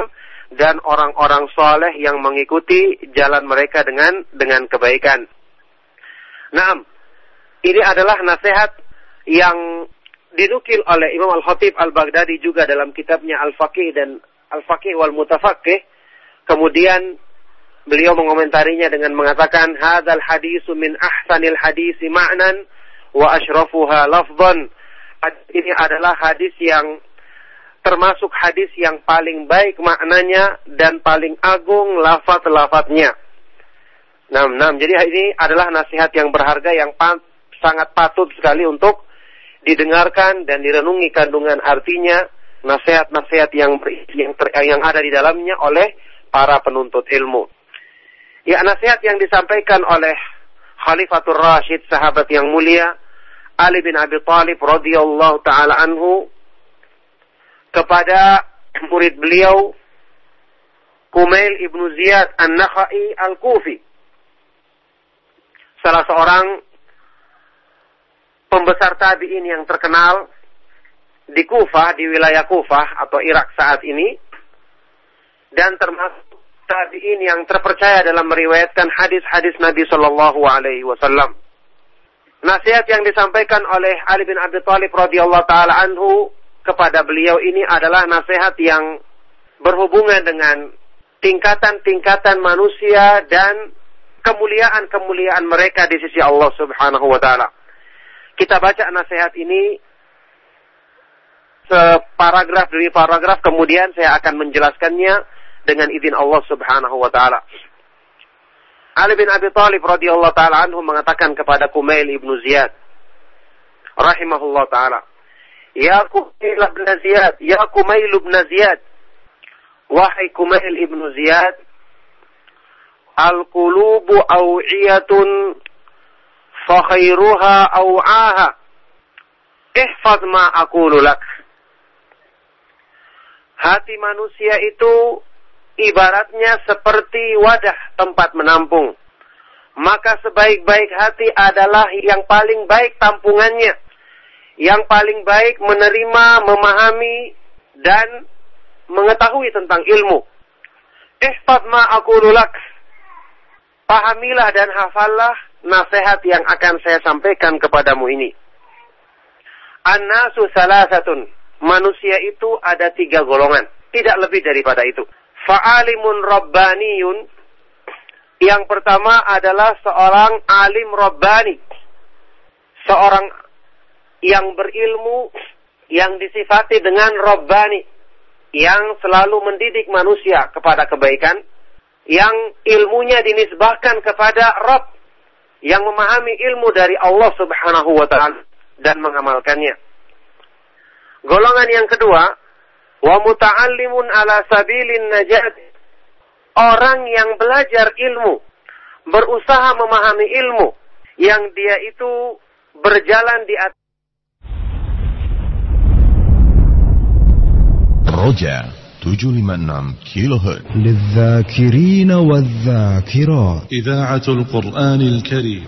dan orang-orang soleh yang mengikuti jalan mereka dengan kebaikan. Naam, ini adalah nasihat yang dinukil oleh Imam Al-Khatib Al-Baghdadi juga dalam kitabnya Al-Faqih dan Al-Faqih wal Mutafaqih. Kemudian beliau mengomentarinya dengan mengatakan, hadzal hadisu min ahsanil hadisi ma'nan wa asyrafuha lafdhan. Ini adalah hadis yang termasuk hadis yang paling baik maknanya dan paling agung lafaz-lafaznya. Jadi ini adalah nasihat yang berharga yang sangat patut sekali untuk didengarkan dan direnungi kandungan artinya, nasihat-nasihat yang ada di dalamnya oleh para penuntut ilmu. Ya, nasihat yang disampaikan oleh Khalifatul Rasyid, sahabat yang mulia Ali bin Abi Thalib radhiyallahu taala anhu kepada murid beliau Kumail ibnu Ziyad An-Nakhai Al-Kufi, salah seorang pembesar tabi'in yang terkenal di Kufah, di wilayah Kufah atau Irak saat ini, dan termasuk tabi'in yang terpercaya dalam meriwayatkan hadis-hadis Nabi Shallallahu Alaihi Wasallam. Nasihat yang disampaikan oleh Ali bin Abi Thalib radhiyallahu taala anhu kepada beliau ini adalah nasihat yang berhubungan dengan tingkatan-tingkatan manusia dan kemuliaan-kemuliaan mereka di sisi Allah Subhanahu wa taala. Kita baca nasihat ini separagraf demi paragraf, kemudian saya akan menjelaskannya dengan izin Allah Subhanahu wa taala. Ali bin Abi Thalib radhiyallahu taala anhu mengatakan kepada Kumail ibnu Ziyad rahimahullah taala, "Ya Kumail ibn Ziyad, ya Kumail ibn Ziyad, wahai Kumail ibnu Ziyad, al-qulubu aw'iyatun fa khairuha aw'aha. Ihfaz ma aqulu lak." Hati manusia itu ibaratnya seperti wadah tempat menampung. Maka sebaik-baik hati adalah yang paling baik tampungannya, yang paling baik menerima, memahami, dan mengetahui tentang ilmu. Ihfaz ma aqulu lak. Pahamilah dan hafallah nasihat yang akan saya sampaikan kepadamu ini. An-nasu salasatun. Manusia itu ada 3 golongan, tidak lebih daripada itu. Fa'alimun rabbaniyun. Yang pertama adalah seorang alim rabbani, seorang yang berilmu, yang disifati dengan rabbani, yang selalu mendidik manusia kepada kebaikan, yang ilmunya dinisbahkan kepada Rabb, yang memahami ilmu dari Allah Subhanahu wa ta'ala dan mengamalkannya. Golongan yang kedua, wa muta'allimun ala sabilin najat. Orang yang belajar ilmu, berusaha memahami ilmu, yang dia itu berjalan di atas Roja 756 kHz للذاكرين والذاكرات إذاعة القرآن الكريم.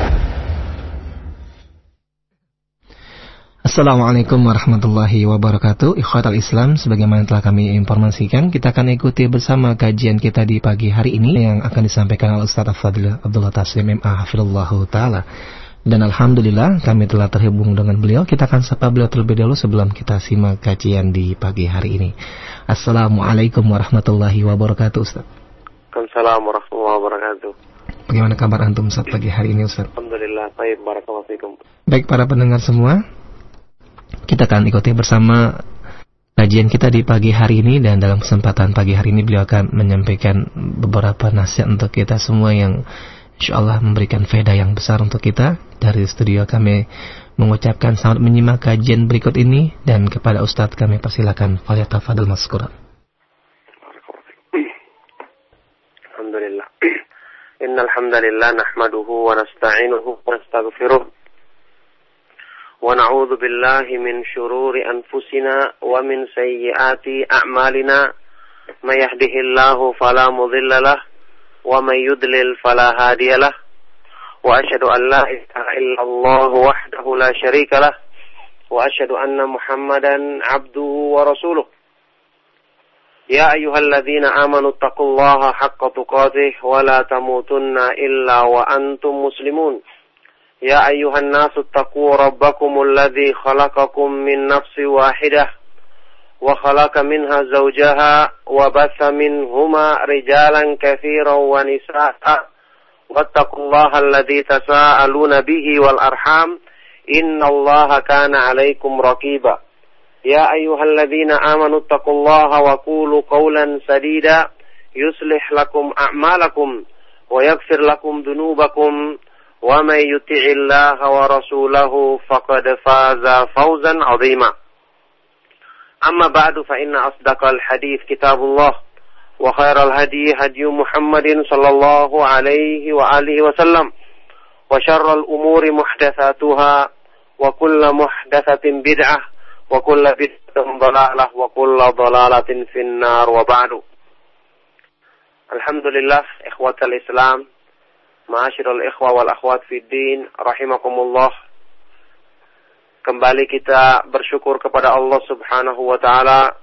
Assalamualaikum warahmatullahi wabarakatuh. Ikhwatal Islam, sebagaimana telah kami informasikan, kita akan ikuti bersama kajian kita di pagi hari ini yang akan disampaikan oleh Ustaz Al-Fadil Abdullah Taslim MA hafizallahu taala. Dan alhamdulillah kami telah terhubung dengan beliau. Kita akan sapa beliau terlebih dahulu sebelum kita simak kajian di pagi hari ini. Assalamualaikum warahmatullahi wabarakatuh, Ustaz. Waalaikumsalam warahmatullahi wabarakatuh. Bagaimana kabar antum Ustaz pagi hari ini, Ustaz? Alhamdulillah, baik, barakallahu fikum. Baik para pendengar semua, kita akan ikuti bersama kajian kita di pagi hari ini, dan dalam kesempatan pagi hari ini beliau akan menyampaikan beberapa nasihat untuk kita semua yang insyaallah memberikan faedah yang besar untuk kita. Dari studio kami mengucapkan selamat menyimak kajian berikut ini, dan kepada Ustadz kami persilakan, falyatafadhal mazkura. Alhamdulillah. Innal hamdalillah nahmaduhu wa nasta'inuhu wa nastaghfiruh. ونعوذ بالله من شرور أنفسنا ومن سيئات أعمالنا من يهده الله فلا مضل له ومن يضلل فلا هادي له وأشهد أن لا إله إلا الله وحده لا شريك له وأشهد أن محمدا عبده ورسوله يا أيها الذين آمنوا اتقوا الله حق تقاته ولا تموتن إلا وأنتم مسلمون يا أيها الناس اتقوا ربكم الذي خلقكم من نفس واحدة وخلق منها زوجها وبث منهما رجالا كثيرا ونساء واتقوا الله الذي تساءلون به والأرحام إن الله كان عليكم رقيبا يا أيها الذين آمنوا اتقوا الله وقولوا قولا سديدا يصلح لكم أعمالكم ويغفر لكم ذنوبكم ومن يطع الله ورسوله فقد فاز فوزا عظيما أما بعد فإن أصدق الحديث كتاب الله وخير الهدي هدي محمد صلى الله عليه وآله وسلم وشر الأمور محدثاتها وكل محدثة بدعة وكل بدعة ضلالة وكل ضلالة في النار وبعد. Alhamdulillah, ikhwatal Islam, ma'asyiral ikhwa wal akhwat fid din, rahimakumullah. Kembali kita bersyukur kepada Allah Subhanahu wa taala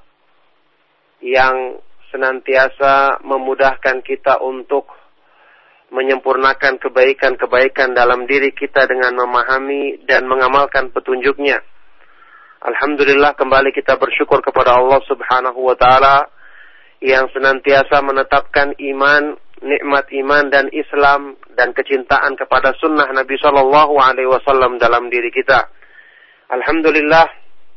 yang senantiasa memudahkan kita untuk menyempurnakan kebaikan-kebaikan dalam diri kita dengan memahami dan mengamalkan petunjuknya. Alhamdulillah, kembali kita bersyukur kepada Allah Subhanahu wa taala yang senantiasa menetapkan iman, nikmat iman dan Islam dan kecintaan kepada sunnah Nabi sallallahu alaihi wasallam dalam diri kita. Alhamdulillah,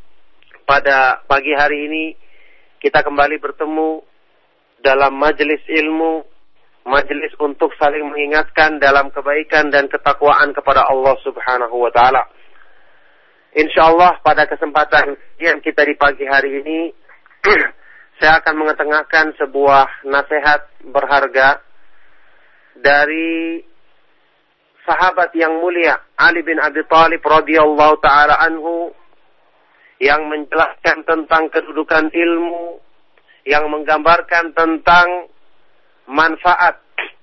pada pagi hari ini kita kembali bertemu dalam majelis ilmu, majelis untuk saling mengingatkan dalam kebaikan dan ketakwaan kepada Allah Subhanahu wa taala. Insyaallah pada kesempatan yang kita di pagi hari ini saya akan mengetengahkan sebuah nasihat berharga dari sahabat yang mulia Ali bin Abi Thalib radhiyallahu taala anhu yang menjelaskan tentang kedudukan ilmu, yang menggambarkan tentang manfaat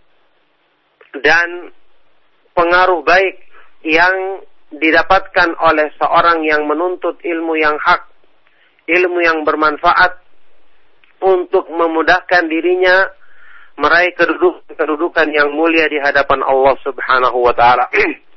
dan pengaruh baik yang didapatkan oleh seorang yang menuntut ilmu yang hak, ilmu yang bermanfaat untuk memudahkan dirinya meraih kedudukan yang mulia di hadapan Allah Subhanahu wa taala.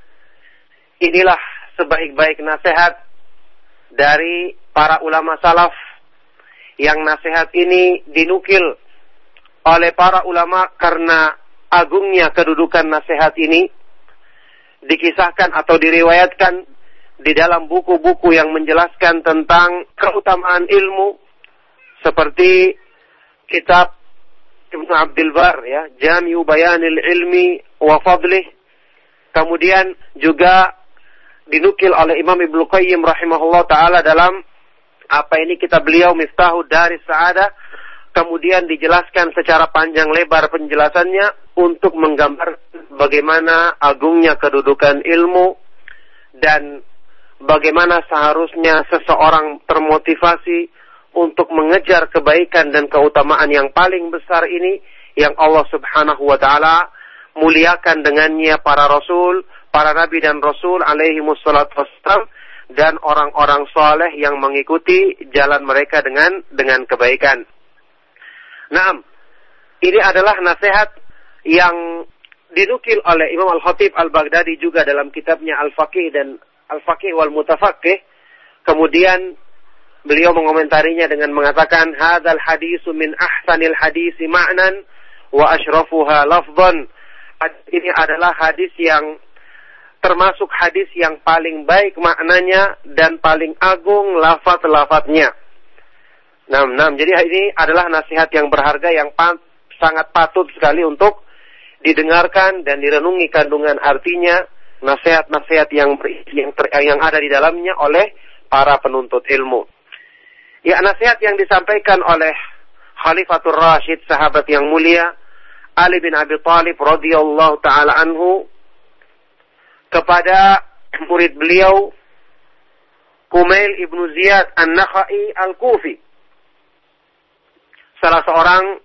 Inilah sebaik-baik nasihat dari para ulama salaf, yang nasihat ini dinukil oleh para ulama karena agungnya kedudukan nasihat ini, dikisahkan atau diriwayatkan di dalam buku-buku yang menjelaskan tentang keutamaan ilmu, seperti kitab Ibnu Abdul Bar, ya, Jami'u Bayanil Ilmi wa Fadlih. Kemudian juga dinukil oleh Imam Ibnu Qayyim rahimahullah taala dalam kitab beliau Miftahud Daris Sa'adah. Kemudian dijelaskan secara panjang lebar penjelasannya untuk menggambar bagaimana agungnya kedudukan ilmu dan bagaimana seharusnya seseorang termotivasi untuk mengejar kebaikan dan keutamaan yang paling besar ini yang Allah Subhanahu wa taala muliakan dengannya para rasul, para nabi dan rasul alaihi wassalatu wassalam, dan orang-orang saleh yang mengikuti jalan mereka dengan kebaikan. Nah, ini adalah nasihat yang dinukil oleh Imam Al-Khatib Al-Baghdadi juga dalam kitabnya Al-Faqih dan Al-Faqih wal Mutafaqih. Kemudian beliau mengomentarinya dengan mengatakan, hadzal hadisu min ahsanil hadisi ma'nan wa asyrafuha lafdhan. Ini adalah hadis yang termasuk hadis yang paling baik maknanya dan paling agung lafaz-lafaznya. Jadi ini adalah nasihat yang berharga yang sangat patut sekali untuk didengarkan dan direnungi kandungan artinya, nasihat-nasihat yang ada di dalamnya oleh para penuntut ilmu. Ya, nasihat yang disampaikan oleh Khalifatul Rasyid, sahabat yang mulia Ali bin Abi Thalib radhiyallahu taala anhu kepada murid beliau Kumail ibnu Ziyad An-Nakhai Al-Kufi, salah seorang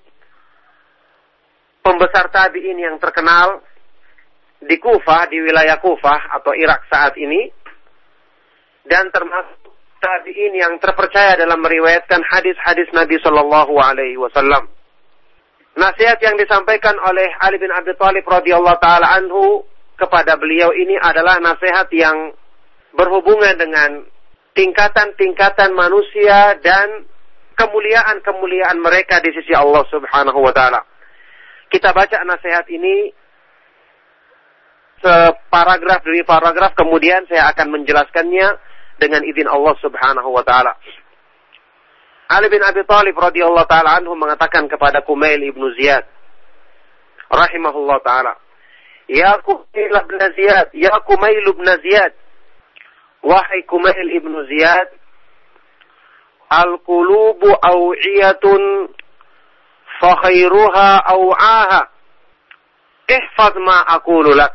pembesar tabi'in yang terkenal di Kufah, di wilayah Kufah atau Irak saat ini, dan termasuk tabi'in yang terpercaya dalam meriwayatkan hadis-hadis Nabi sallallahu alaihi wasallam. Nasihat yang disampaikan oleh Ali bin Abi Thalib radhiyallahu taala anhu kepada beliau ini adalah nasihat yang berhubungan dengan tingkatan-tingkatan manusia dan kemuliaan-kemuliaan mereka di sisi Allah Subhanahu wa taala. Kita baca nasihat ini separagraf demi paragraf, kemudian saya akan menjelaskannya dengan izin Allah Subhanahu wa taala. Ali bin Abi Thalib radhiyallahu taala anhu mengatakan kepada Kumail ibnu Ziyad rahimahullah taala, "Ya Kumail ibn Ziyad, ya Kumail ibn Ziyad, wahai Kumail ibnu Ziyad, al-qulubu aw'iyatun fa khairuha aw'aha. Ihfaz ma aqulu lak."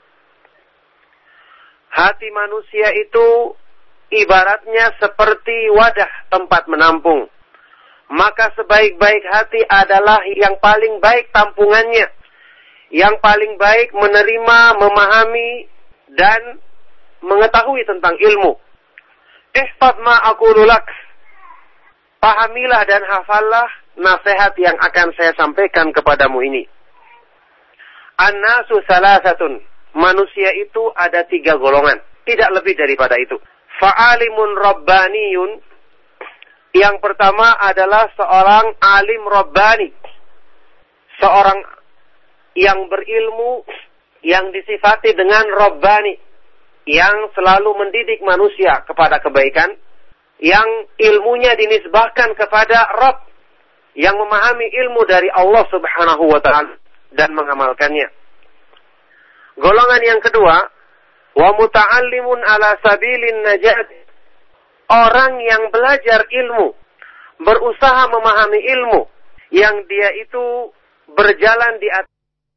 Hati manusia itu ibaratnya seperti wadah tempat menampung. Maka sebaik-baik hati adalah yang paling baik tampungannya, yang paling baik menerima, memahami, dan mengetahui tentang ilmu. Ihfaz ma aqulu lak. Pahamilah dan hafallah nasihat yang akan saya sampaikan kepadamu ini. An-nasu salasatun. Manusia itu ada 3 golongan, tidak lebih daripada itu. Fa'alimun rabbaniyun. Yang pertama adalah seorang alim rabbani, seorang yang berilmu, yang disifati dengan rabbani, yang selalu mendidik manusia kepada kebaikan, yang ilmunya dinisbahkan kepada Rabb, yang memahami ilmu dari Allah Subhanahu wa ta'ala dan mengamalkannya. Golongan yang kedua, wa muta'allimun ala sabilin najat. Orang yang belajar ilmu, berusaha memahami ilmu, yang dia itu berjalan di atas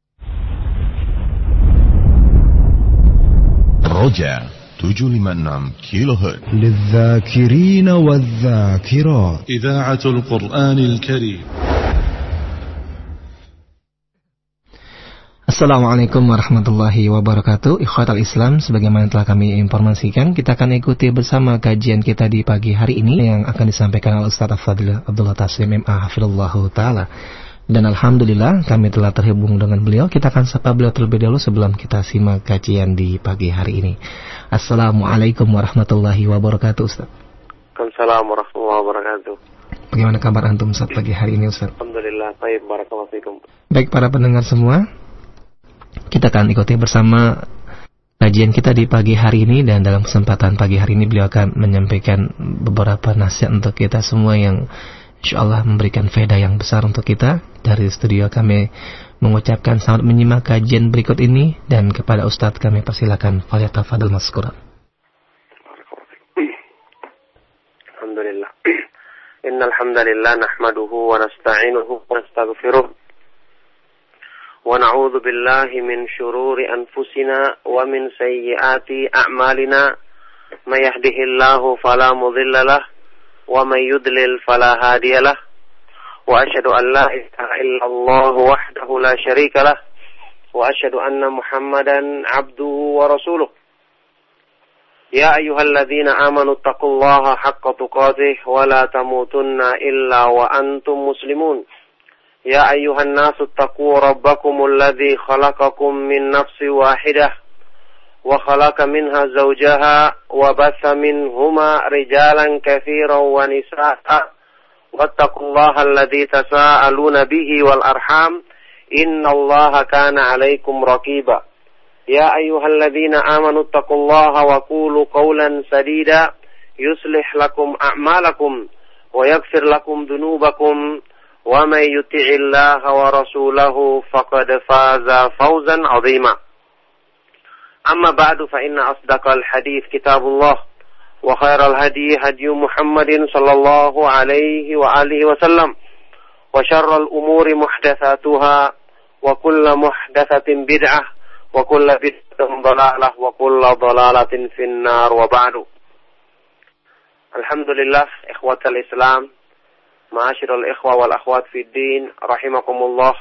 Roja 756 kilohertz. للذاكرين والذاكرات. إذاعة القرآن الكريم. Assalamualaikum warahmatullahi wabarakatuh. Ikhwatal Islam, sebagaimana telah kami informasikan, kita akan ikuti bersama kajian kita di pagi hari ini yang akan disampaikan oleh Ustaz Fadil Abdullah Taslim MA hafizallahu taala. Dan alhamdulillah kami telah terhubung dengan beliau. Kita akan sapa beliau terlebih dahulu sebelum kita simak kajian di pagi hari ini. Assalamualaikum warahmatullahi wabarakatuh, Ustaz. Waalaikumsalam warahmatullahi wabarakatuh. Bagaimana kabar antum Ustaz pagi hari ini, Ustaz? Alhamdulillah, baik, barakallahu fikum. Baik para pendengar semua, kita akan ikuti bersama kajian kita di pagi hari ini, dan dalam kesempatan pagi hari ini beliau akan menyampaikan beberapa nasihat untuk kita semua yang insyaallah memberikan faedah yang besar untuk kita. Dari studio kami mengucapkan selamat menyimak kajian berikut ini, dan kepada Ustadz kami persilakan falyatafadhal mazkura. Alhamdulillah. Innal hamdalillah nahmaduhu wa nasta'inuhu wa nastaghfiruh. ونعوذ بالله من شرور أنفسنا ومن سيئات أعمالنا من يهده الله فلا مضل له ومن يضلل فلا هادي له وأشهد أن لا إله إلا الله وحده لا شريك له وأشهد أن محمدا عبده ورسوله يا أيها الذين آمنوا اتقوا الله حق تقاته ولا تموتن إلا وأنتم مسلمون يا أيها الناس اتقوا ربكم الذي خلقكم من نفس واحدة وخلق منها زوجها وبث منهما رجالا كثيرا ونساء واتقوا الله الذي تساءلون به والأرحام إن الله كان عليكم رقيبا يا أيها الذين آمنوا اتقوا الله وقولوا قولا سديدا يصلح لكم أعمالكم ويغفر لكم ذنوبكم ومن يطع الله ورسوله فقد فاز فوزا عظيما أما بعد فإن أصدق الحديث كتاب الله وخير الهدي هدي محمد صلى الله عليه وآله وسلم وشر الأمور محدثاتها وكل محدثة بدعة وكل بدعة ضلالة وكل ضلالة في النار وبعد. Alhamdulillah, ikhwatal Islam, ma'asyiral ikhwa wal akhwat fid din, rahimakumullah.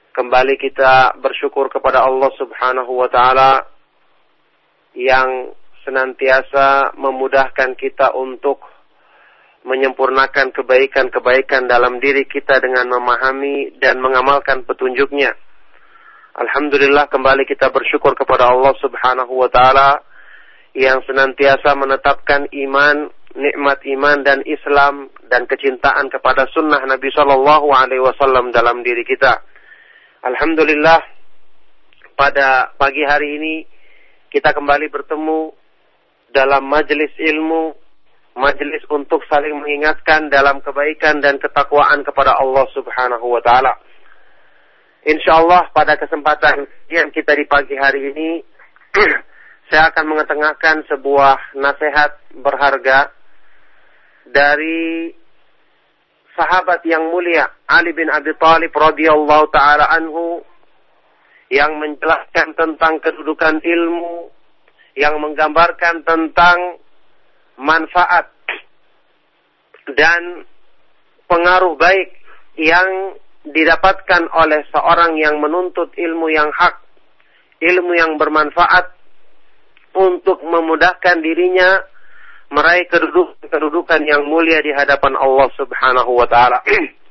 Kembali kita bersyukur kepada Allah Subhanahu wa taala yang senantiasa memudahkan kita untuk menyempurnakan kebaikan-kebaikan dalam diri kita dengan memahami dan mengamalkan petunjuknya. Alhamdulillah, kembali kita bersyukur kepada Allah Subhanahu wa Ta'ala yang senantiasa menetapkan iman, nikmat iman dan Islam dan kecintaan kepada sunnah Nabi Sallallahu Alaihi Wasallam dalam diri kita. Alhamdulillah, pada pagi hari ini kita kembali bertemu dalam majelis ilmu, majelis untuk saling mengingatkan dalam kebaikan dan ketakwaan kepada Allah Subhanahu wa Ta'ala. Insyaallah pada kesempatan yang kita di pagi hari ini saya akan mengetengahkan sebuah nasihat berharga dari sahabat yang mulia Ali bin Abi Thalib radhiyallahu taala anhu yang menjelaskan tentang kedudukan ilmu, yang menggambarkan tentang manfaat dan pengaruh baik yang didapatkan oleh seorang yang menuntut ilmu yang hak, ilmu yang bermanfaat untuk memudahkan dirinya meraih kedudukan yang mulia di hadapan Allah Subhanahu wa Ta'ala.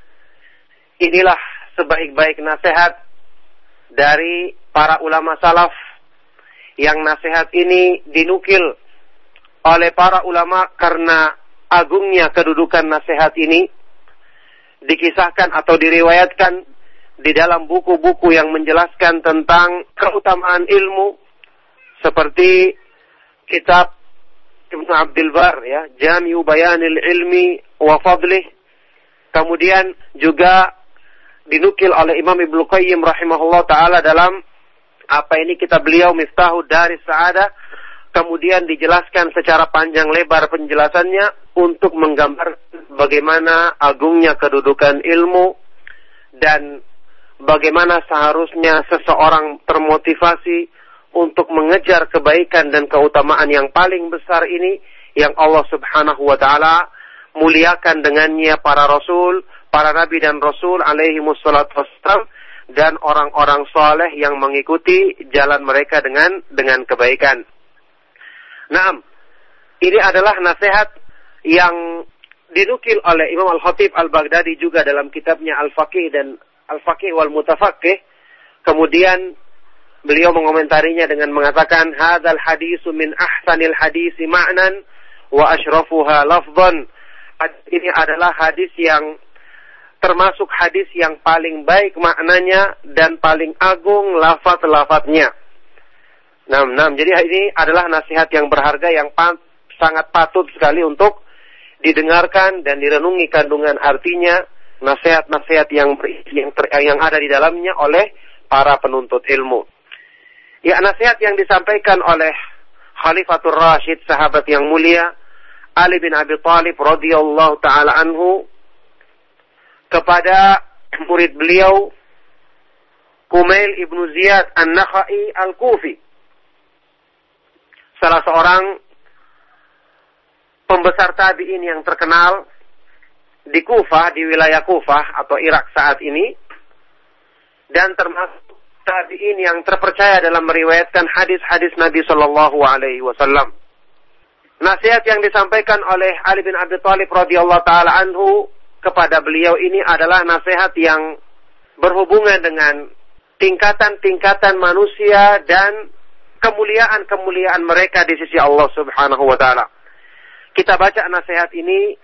Inilah sebaik-baik nasihat dari para ulama salaf, yang nasihat ini dinukil oleh para ulama karena agungnya kedudukan nasihat ini, dikisahkan atau diriwayatkan di dalam buku-buku yang menjelaskan tentang keutamaan ilmu, seperti kitab Ibnu Abdul Bar, ya, Jami'u Bayanil Ilmi wa Fadlih. Kemudian juga dinukil oleh Imam Ibnu Qayyim rahimahullah taala dalam kitab beliau Miftahud Daris Sa'adah. Kemudian dijelaskan secara panjang lebar penjelasannya untuk menggambarkan bagaimana agungnya kedudukan ilmu dan bagaimana seharusnya seseorang termotivasi untuk mengejar kebaikan dan keutamaan yang paling besar ini yang Allah Subhanahu wa Ta'ala muliakan dengannya para rasul, para nabi dan rasul alaihi wassalatu wassalam, dan orang-orang saleh yang mengikuti jalan mereka dengan kebaikan. Nah, ini adalah nasihat yang dinukil oleh Imam Al-Khatib Al-Baghdadi juga dalam kitabnya Al-Faqih dan Al-Faqih wal Mutafaqih. Kemudian beliau mengomentarinya dengan mengatakan, hadzal hadisu min ahsanil hadisi ma'nan wa asyrafuha lafdhan. Ini adalah hadis yang termasuk hadis yang paling baik maknanya dan paling agung lafaz-lafaznya. Nah, jadi ini adalah nasihat yang berharga yang sangat patut sekali untuk didengarkan dan direnungi kandungan artinya, nasihat-nasihat yang ada di dalamnya oleh para penuntut ilmu. Ya, nasihat yang disampaikan oleh Khalifatul Rasyid, sahabat yang mulia Ali bin Abi Thalib radhiyallahu taala anhu kepada murid beliau Kumail ibnu Ziyad An-Nakhai Al-Kufi, salah seorang pembesar tabi'in yang terkenal di Kufah, di wilayah Kufah atau Irak saat ini, dan termasuk tabi'in yang terpercaya dalam meriwayatkan hadis-hadis Nabi Sallallahu Alaihi Wasallam. Nasihat yang disampaikan oleh Ali bin Abi Thalib radhiyallahu taala anhu kepada beliau ini adalah nasihat yang berhubungan dengan tingkatan-tingkatan manusia dan kemuliaan-kemuliaan mereka di sisi Allah Subhanahu wa Ta'ala. Kita baca nasihat ini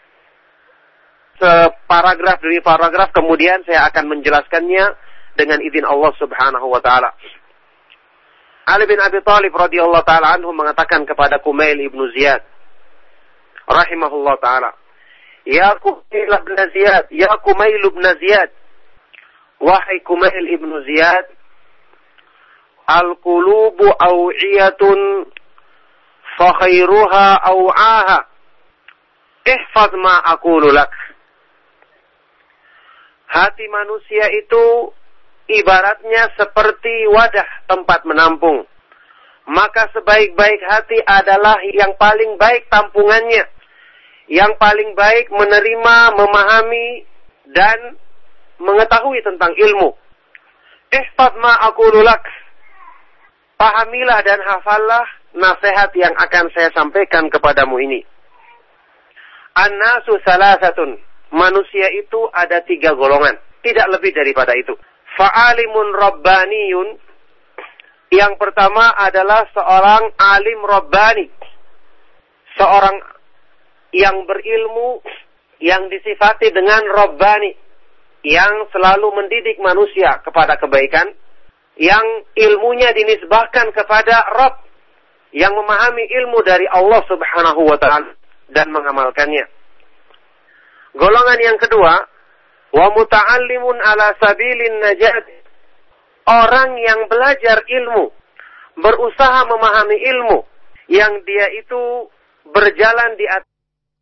separagraf demi paragraf, kemudian saya akan menjelaskannya dengan izin Allah Subhanahu wa Ta'ala. Ali bin Abi Thalib radhiyallahu taala anhu mengatakan kepada Kumail ibnu Ziyad rahimahullah taala, Ya Kumail ibn Ziyad, ya Kumail ibn Ziyad, wahai Kumail ibnu Ziyad, al-qulubu aw'iyatun fa khairuha aw'aha, ihfaz ma aqulu lak. Hati manusia itu ibaratnya seperti wadah tempat menampung. Maka sebaik-baik hati adalah yang paling baik tampungannya, yang paling baik menerima, memahami, dan mengetahui tentang ilmu. Ihfaz ma aqulu lak. Pahamilah dan hafallah nasihat yang akan saya sampaikan kepadamu ini. An-nasu salasatun. Manusia itu ada 3 golongan. Tidak lebih daripada itu. Fa'alimun rabbaniyun. Yang pertama adalah seorang alim rabbani. Seorang yang berilmu, yang disifati dengan rabbani. Yang selalu mendidik manusia kepada kebaikan. Yang ilmunya dinisbahkan kepada Rabb. Yang memahami ilmu dari Allah subhanahu wa ta'ala. Dan mengamalkannya. Golongan yang kedua, wa muta'allimun ala sabilin najat. Orang yang belajar ilmu, berusaha memahami ilmu, yang dia itu berjalan di atas.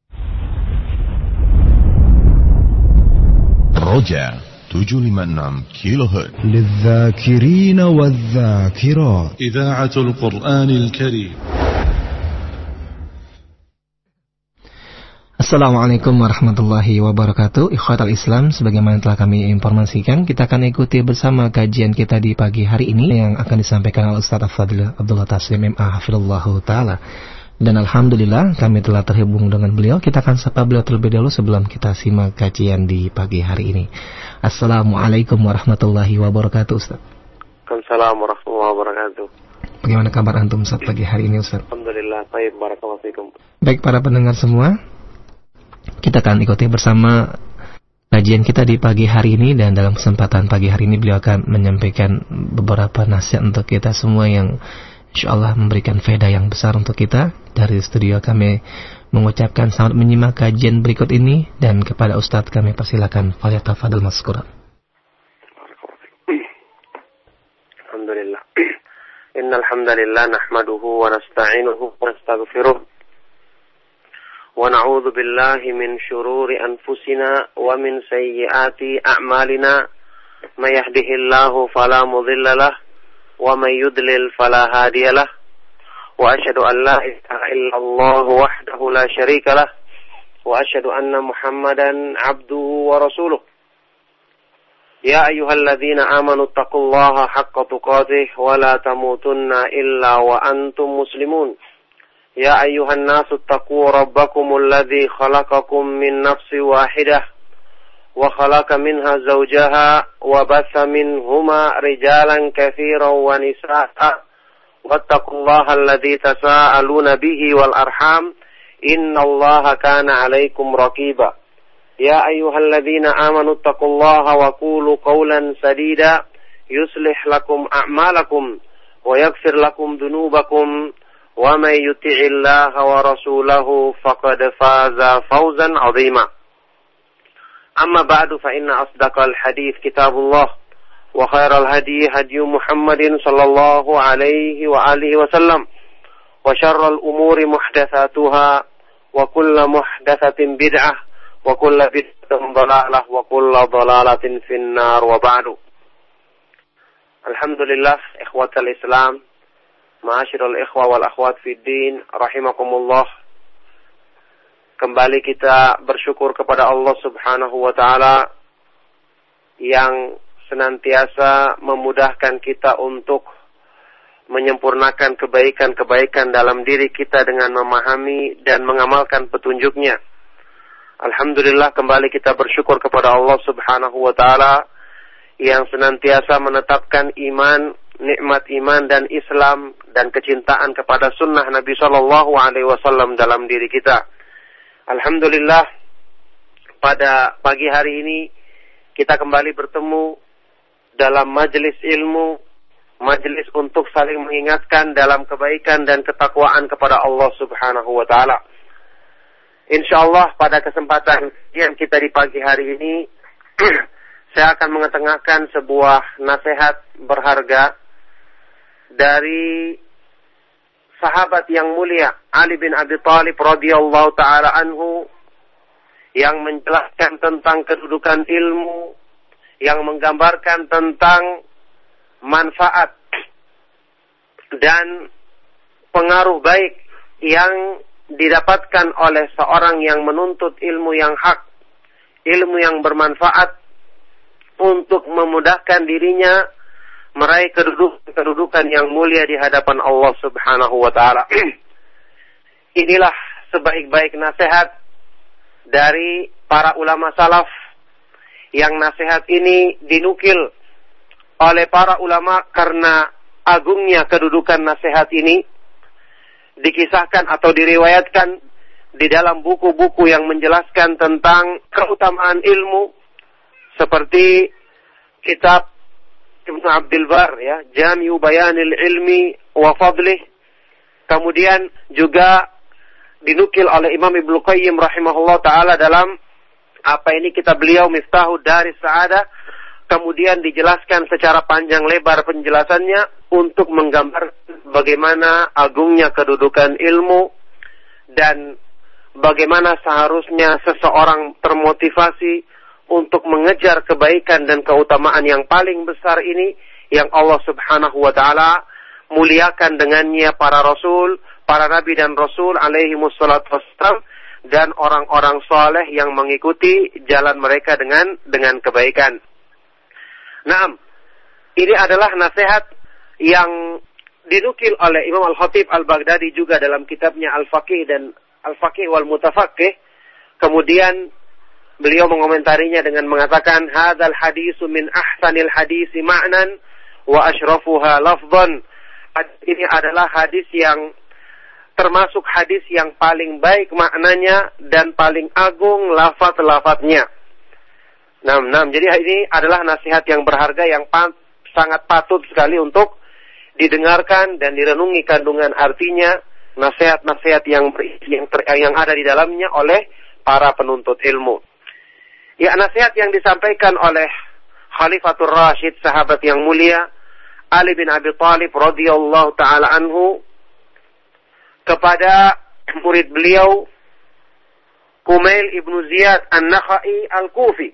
Roja 756 kHz. للذاكرين والذاكرات. إذاعة القرآن الكريم. Assalamualaikum warahmatullahi wabarakatuh. Ikhwatal Islam, sebagaimana telah kami informasikan, kita akan ikuti bersama kajian kita di pagi hari ini yang akan disampaikan oleh Ustaz Al-Fadhil Abdullah Taslim MA hafizallahu taala. Dan alhamdulillah kami telah terhubung dengan beliau. Kita akan sapa beliau terlebih dahulu sebelum kita simak kajian di pagi hari ini. Assalamualaikum warahmatullahi wabarakatuh, Ustaz. Waalaikumsalam warahmatullahi wabarakatuh. Bagaimana kabar antum Ustaz pagi hari ini, Ustaz? Alhamdulillah, baik, barakallahu fikum. Baik para pendengar semua, kita akan ikuti bersama kajian kita di pagi hari ini, dan dalam kesempatan pagi hari ini beliau akan menyampaikan beberapa nasihat untuk kita semua yang insyaallah memberikan faedah yang besar untuk kita. Dari studio kami mengucapkan selamat menyimak kajian berikut ini, dan kepada Ustadz kami persilakan, falyatafadhal mazkura. Alhamdulillah. Innal hamdalillah nahmaduhu wa nasta'inuhu wa nastaghfiruh. ونعوذ بالله من شرور أنفسنا ومن سيئات أعمالنا من يهده الله فلا مضل له ومن يضلل فلا هادي له وأشهد أن لا إله إلا الله وحده لا شريك له وأشهد أن محمدا عبده ورسوله يا أيها الذين آمنوا اتقوا الله حق تقاته ولا تموتن إلا وأنتم مسلمون يا أيها الناس اتقوا ربكم الذي خلقكم من نفس واحدة وخلق منها زوجها وبث منهما رجالا كثيرا ونساء واتقوا الله الذي تساءلون به والأرحام إن الله كان عليكم رقيبا يا أيها الذين آمنوا اتقوا الله وقولوا قولا سديدا يصلح لكم أعمالكم ويغفر لكم ذنوبكم ومن يطع الله ورسوله فقد فاز فوزا عظيما أما بعد فإن أصدق الحديث كتاب الله وخير الهدي هدي محمد صلى الله عليه وآله وسلم وشر الأمور محدثاتها وكل محدثة بدعة وكل بدعة ضلالة وكل ضلالة في النار وبعد. Alhamdulillah, ikhwatal Islam, ma'asyiral ikhwa wal akhwat fid din, rahimakumullah. Kembali kita bersyukur kepada Allah Subhanahu wa taala yang senantiasa memudahkan kita untuk menyempurnakan kebaikan-kebaikan dalam diri kita dengan memahami dan mengamalkan petunjuknya. Alhamdulillah, kembali kita bersyukur kepada Allah Subhanahu wa taala yang senantiasa menetapkan iman, nikmat iman dan Islam dan kecintaan kepada sunnah Nabi sallallahu alaihi wasallam dalam diri kita. Alhamdulillah, pada pagi hari ini kita kembali bertemu dalam majelis ilmu, majelis untuk saling mengingatkan dalam kebaikan dan ketakwaan kepada Allah Subhanahu wa taala. Insyaallah pada kesempatan yang kita di pagi hari ini saya akan mengetengahkan sebuah nasihat berharga dari sahabat yang mulia Ali bin Abi Thalib radhiyallahu taala anhu, yang menjelaskan tentang kedudukan ilmu, yang menggambarkan tentang manfaat dan pengaruh baik yang didapatkan oleh seorang yang menuntut ilmu yang hak, ilmu yang bermanfaat untuk memudahkan dirinya meraih kedudukan yang mulia di hadapan Allah Subhanahu wa taala. Inilah sebaik-baik nasihat dari para ulama salaf, yang nasihat ini dinukil oleh para ulama karena agungnya kedudukan nasihat ini, dikisahkan atau diriwayatkan di dalam buku-buku yang menjelaskan tentang keutamaan ilmu, seperti kitab Ibnu Abdul Bar, ya, Jami'u Bayanil Ilmi wa Fadlih. Kemudian juga dinukil oleh Imam Ibnu Qayyim rahimahullah taala dalam kitab beliau Miftahud Daris Sa'adah. Kemudian dijelaskan secara panjang lebar penjelasannya untuk menggambar bagaimana agungnya kedudukan ilmu dan bagaimana seharusnya seseorang termotivasi untuk mengejar kebaikan dan keutamaan yang paling besar ini, yang Allah Subhanahu wa taala muliakan dengannya para rasul, para nabi dan rasul alaihi wassalatu wassalam, dan orang-orang saleh yang mengikuti jalan mereka dengan kebaikan. Naam, ini adalah nasihat yang dinukil oleh Imam Al-Khatib Al-Baghdadi juga dalam kitabnya Al-Faqih dan Al-Faqih wal Mutafaqih. Kemudian beliau mengomentarinya dengan mengatakan, hadzal hadisu min ahsanil hadisi ma'nan wa asyrafuha lafdhan. Ini adalah hadis yang termasuk hadis yang paling baik maknanya dan paling agung lafaz-lafaznya. Jadi ini adalah nasihat yang berharga yang sangat patut sekali untuk didengarkan dan direnungi kandungan artinya, nasihat-nasihat yang ada di dalamnya oleh para penuntut ilmu. Ya, nasihat yang disampaikan oleh Khalifatul Rashid, sahabat yang mulia Ali bin Abi Thalib radhiyallahu taala anhu, kepada murid beliau Kumail ibnu Ziyad An-Nakhai Al-Kufi,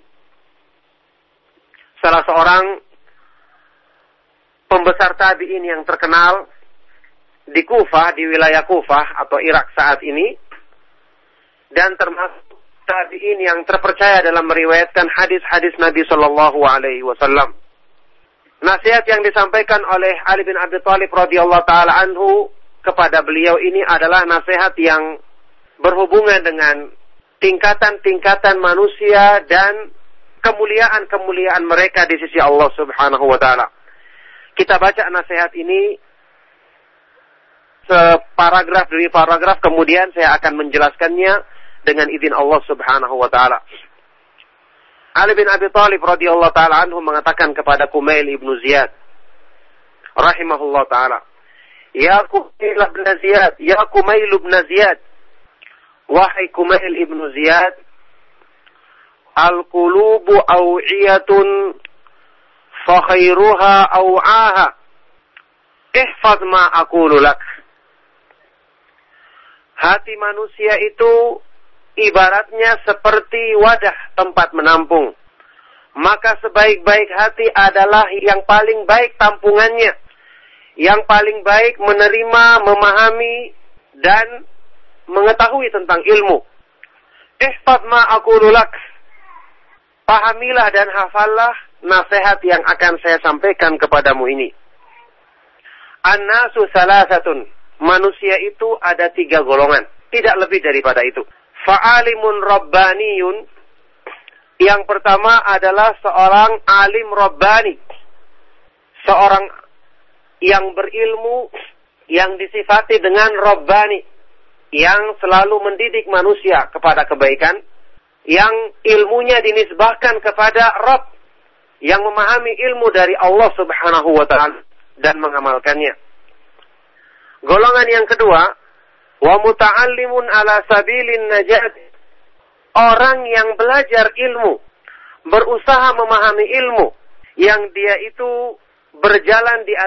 salah seorang pembesar tabi'in yang terkenal di Kufah, di wilayah Kufah atau Irak saat ini, dan termasuk tabi'in yang terpercaya dalam meriwayatkan hadis-hadis Nabi sallallahu alaihi wasallam. Nasihat yang disampaikan oleh Ali bin Abi Thalib radhiyallahu taala anhu kepada beliau ini adalah nasihat yang berhubungan dengan tingkatan-tingkatan manusia dan kemuliaan-kemuliaan mereka di sisi Allah Subhanahu wa taala. Kita baca nasihat ini separagraf demi paragraf, kemudian saya akan menjelaskannya dengan izin Allah Subhanahu wa taala. Ali bin Abi Thalib radhiyallahu taala anhu mengatakan kepada Kumail ibnu Ziyad rahimahullah taala, "Ya Kumail ibn Ziyad, ya Kumail ibn Ziyad, wahai Kumail ibnu Ziyad, al-qulubu aw'iyatun fa khairuha aw'aha. Ihfaz ma aqulu lak." Hati manusia itu ibaratnya seperti wadah tempat menampung. Maka sebaik-baik hati adalah yang paling baik tampungannya, yang paling baik menerima, memahami, dan mengetahui tentang ilmu. Ihfaz ma aqulu lak. Pahamilah dan hafallah nasihat yang akan saya sampaikan kepadamu ini. An-nasu salasatun. Manusia itu ada 3 golongan, tidak lebih daripada itu. Fa'alimun rabbaniyun. Yang pertama adalah seorang alim rabbani, seorang yang berilmu, yang disifati dengan rabbani, yang selalu mendidik manusia kepada kebaikan, yang ilmunya dinisbahkan kepada Rabb, yang memahami ilmu dari Allah Subhanahu wa ta'ala dan mengamalkannya. Golongan yang kedua, wa muta'allimun ala sabilin najat. Orang yang belajar ilmu, berusaha memahami ilmu, yang dia itu berjalan di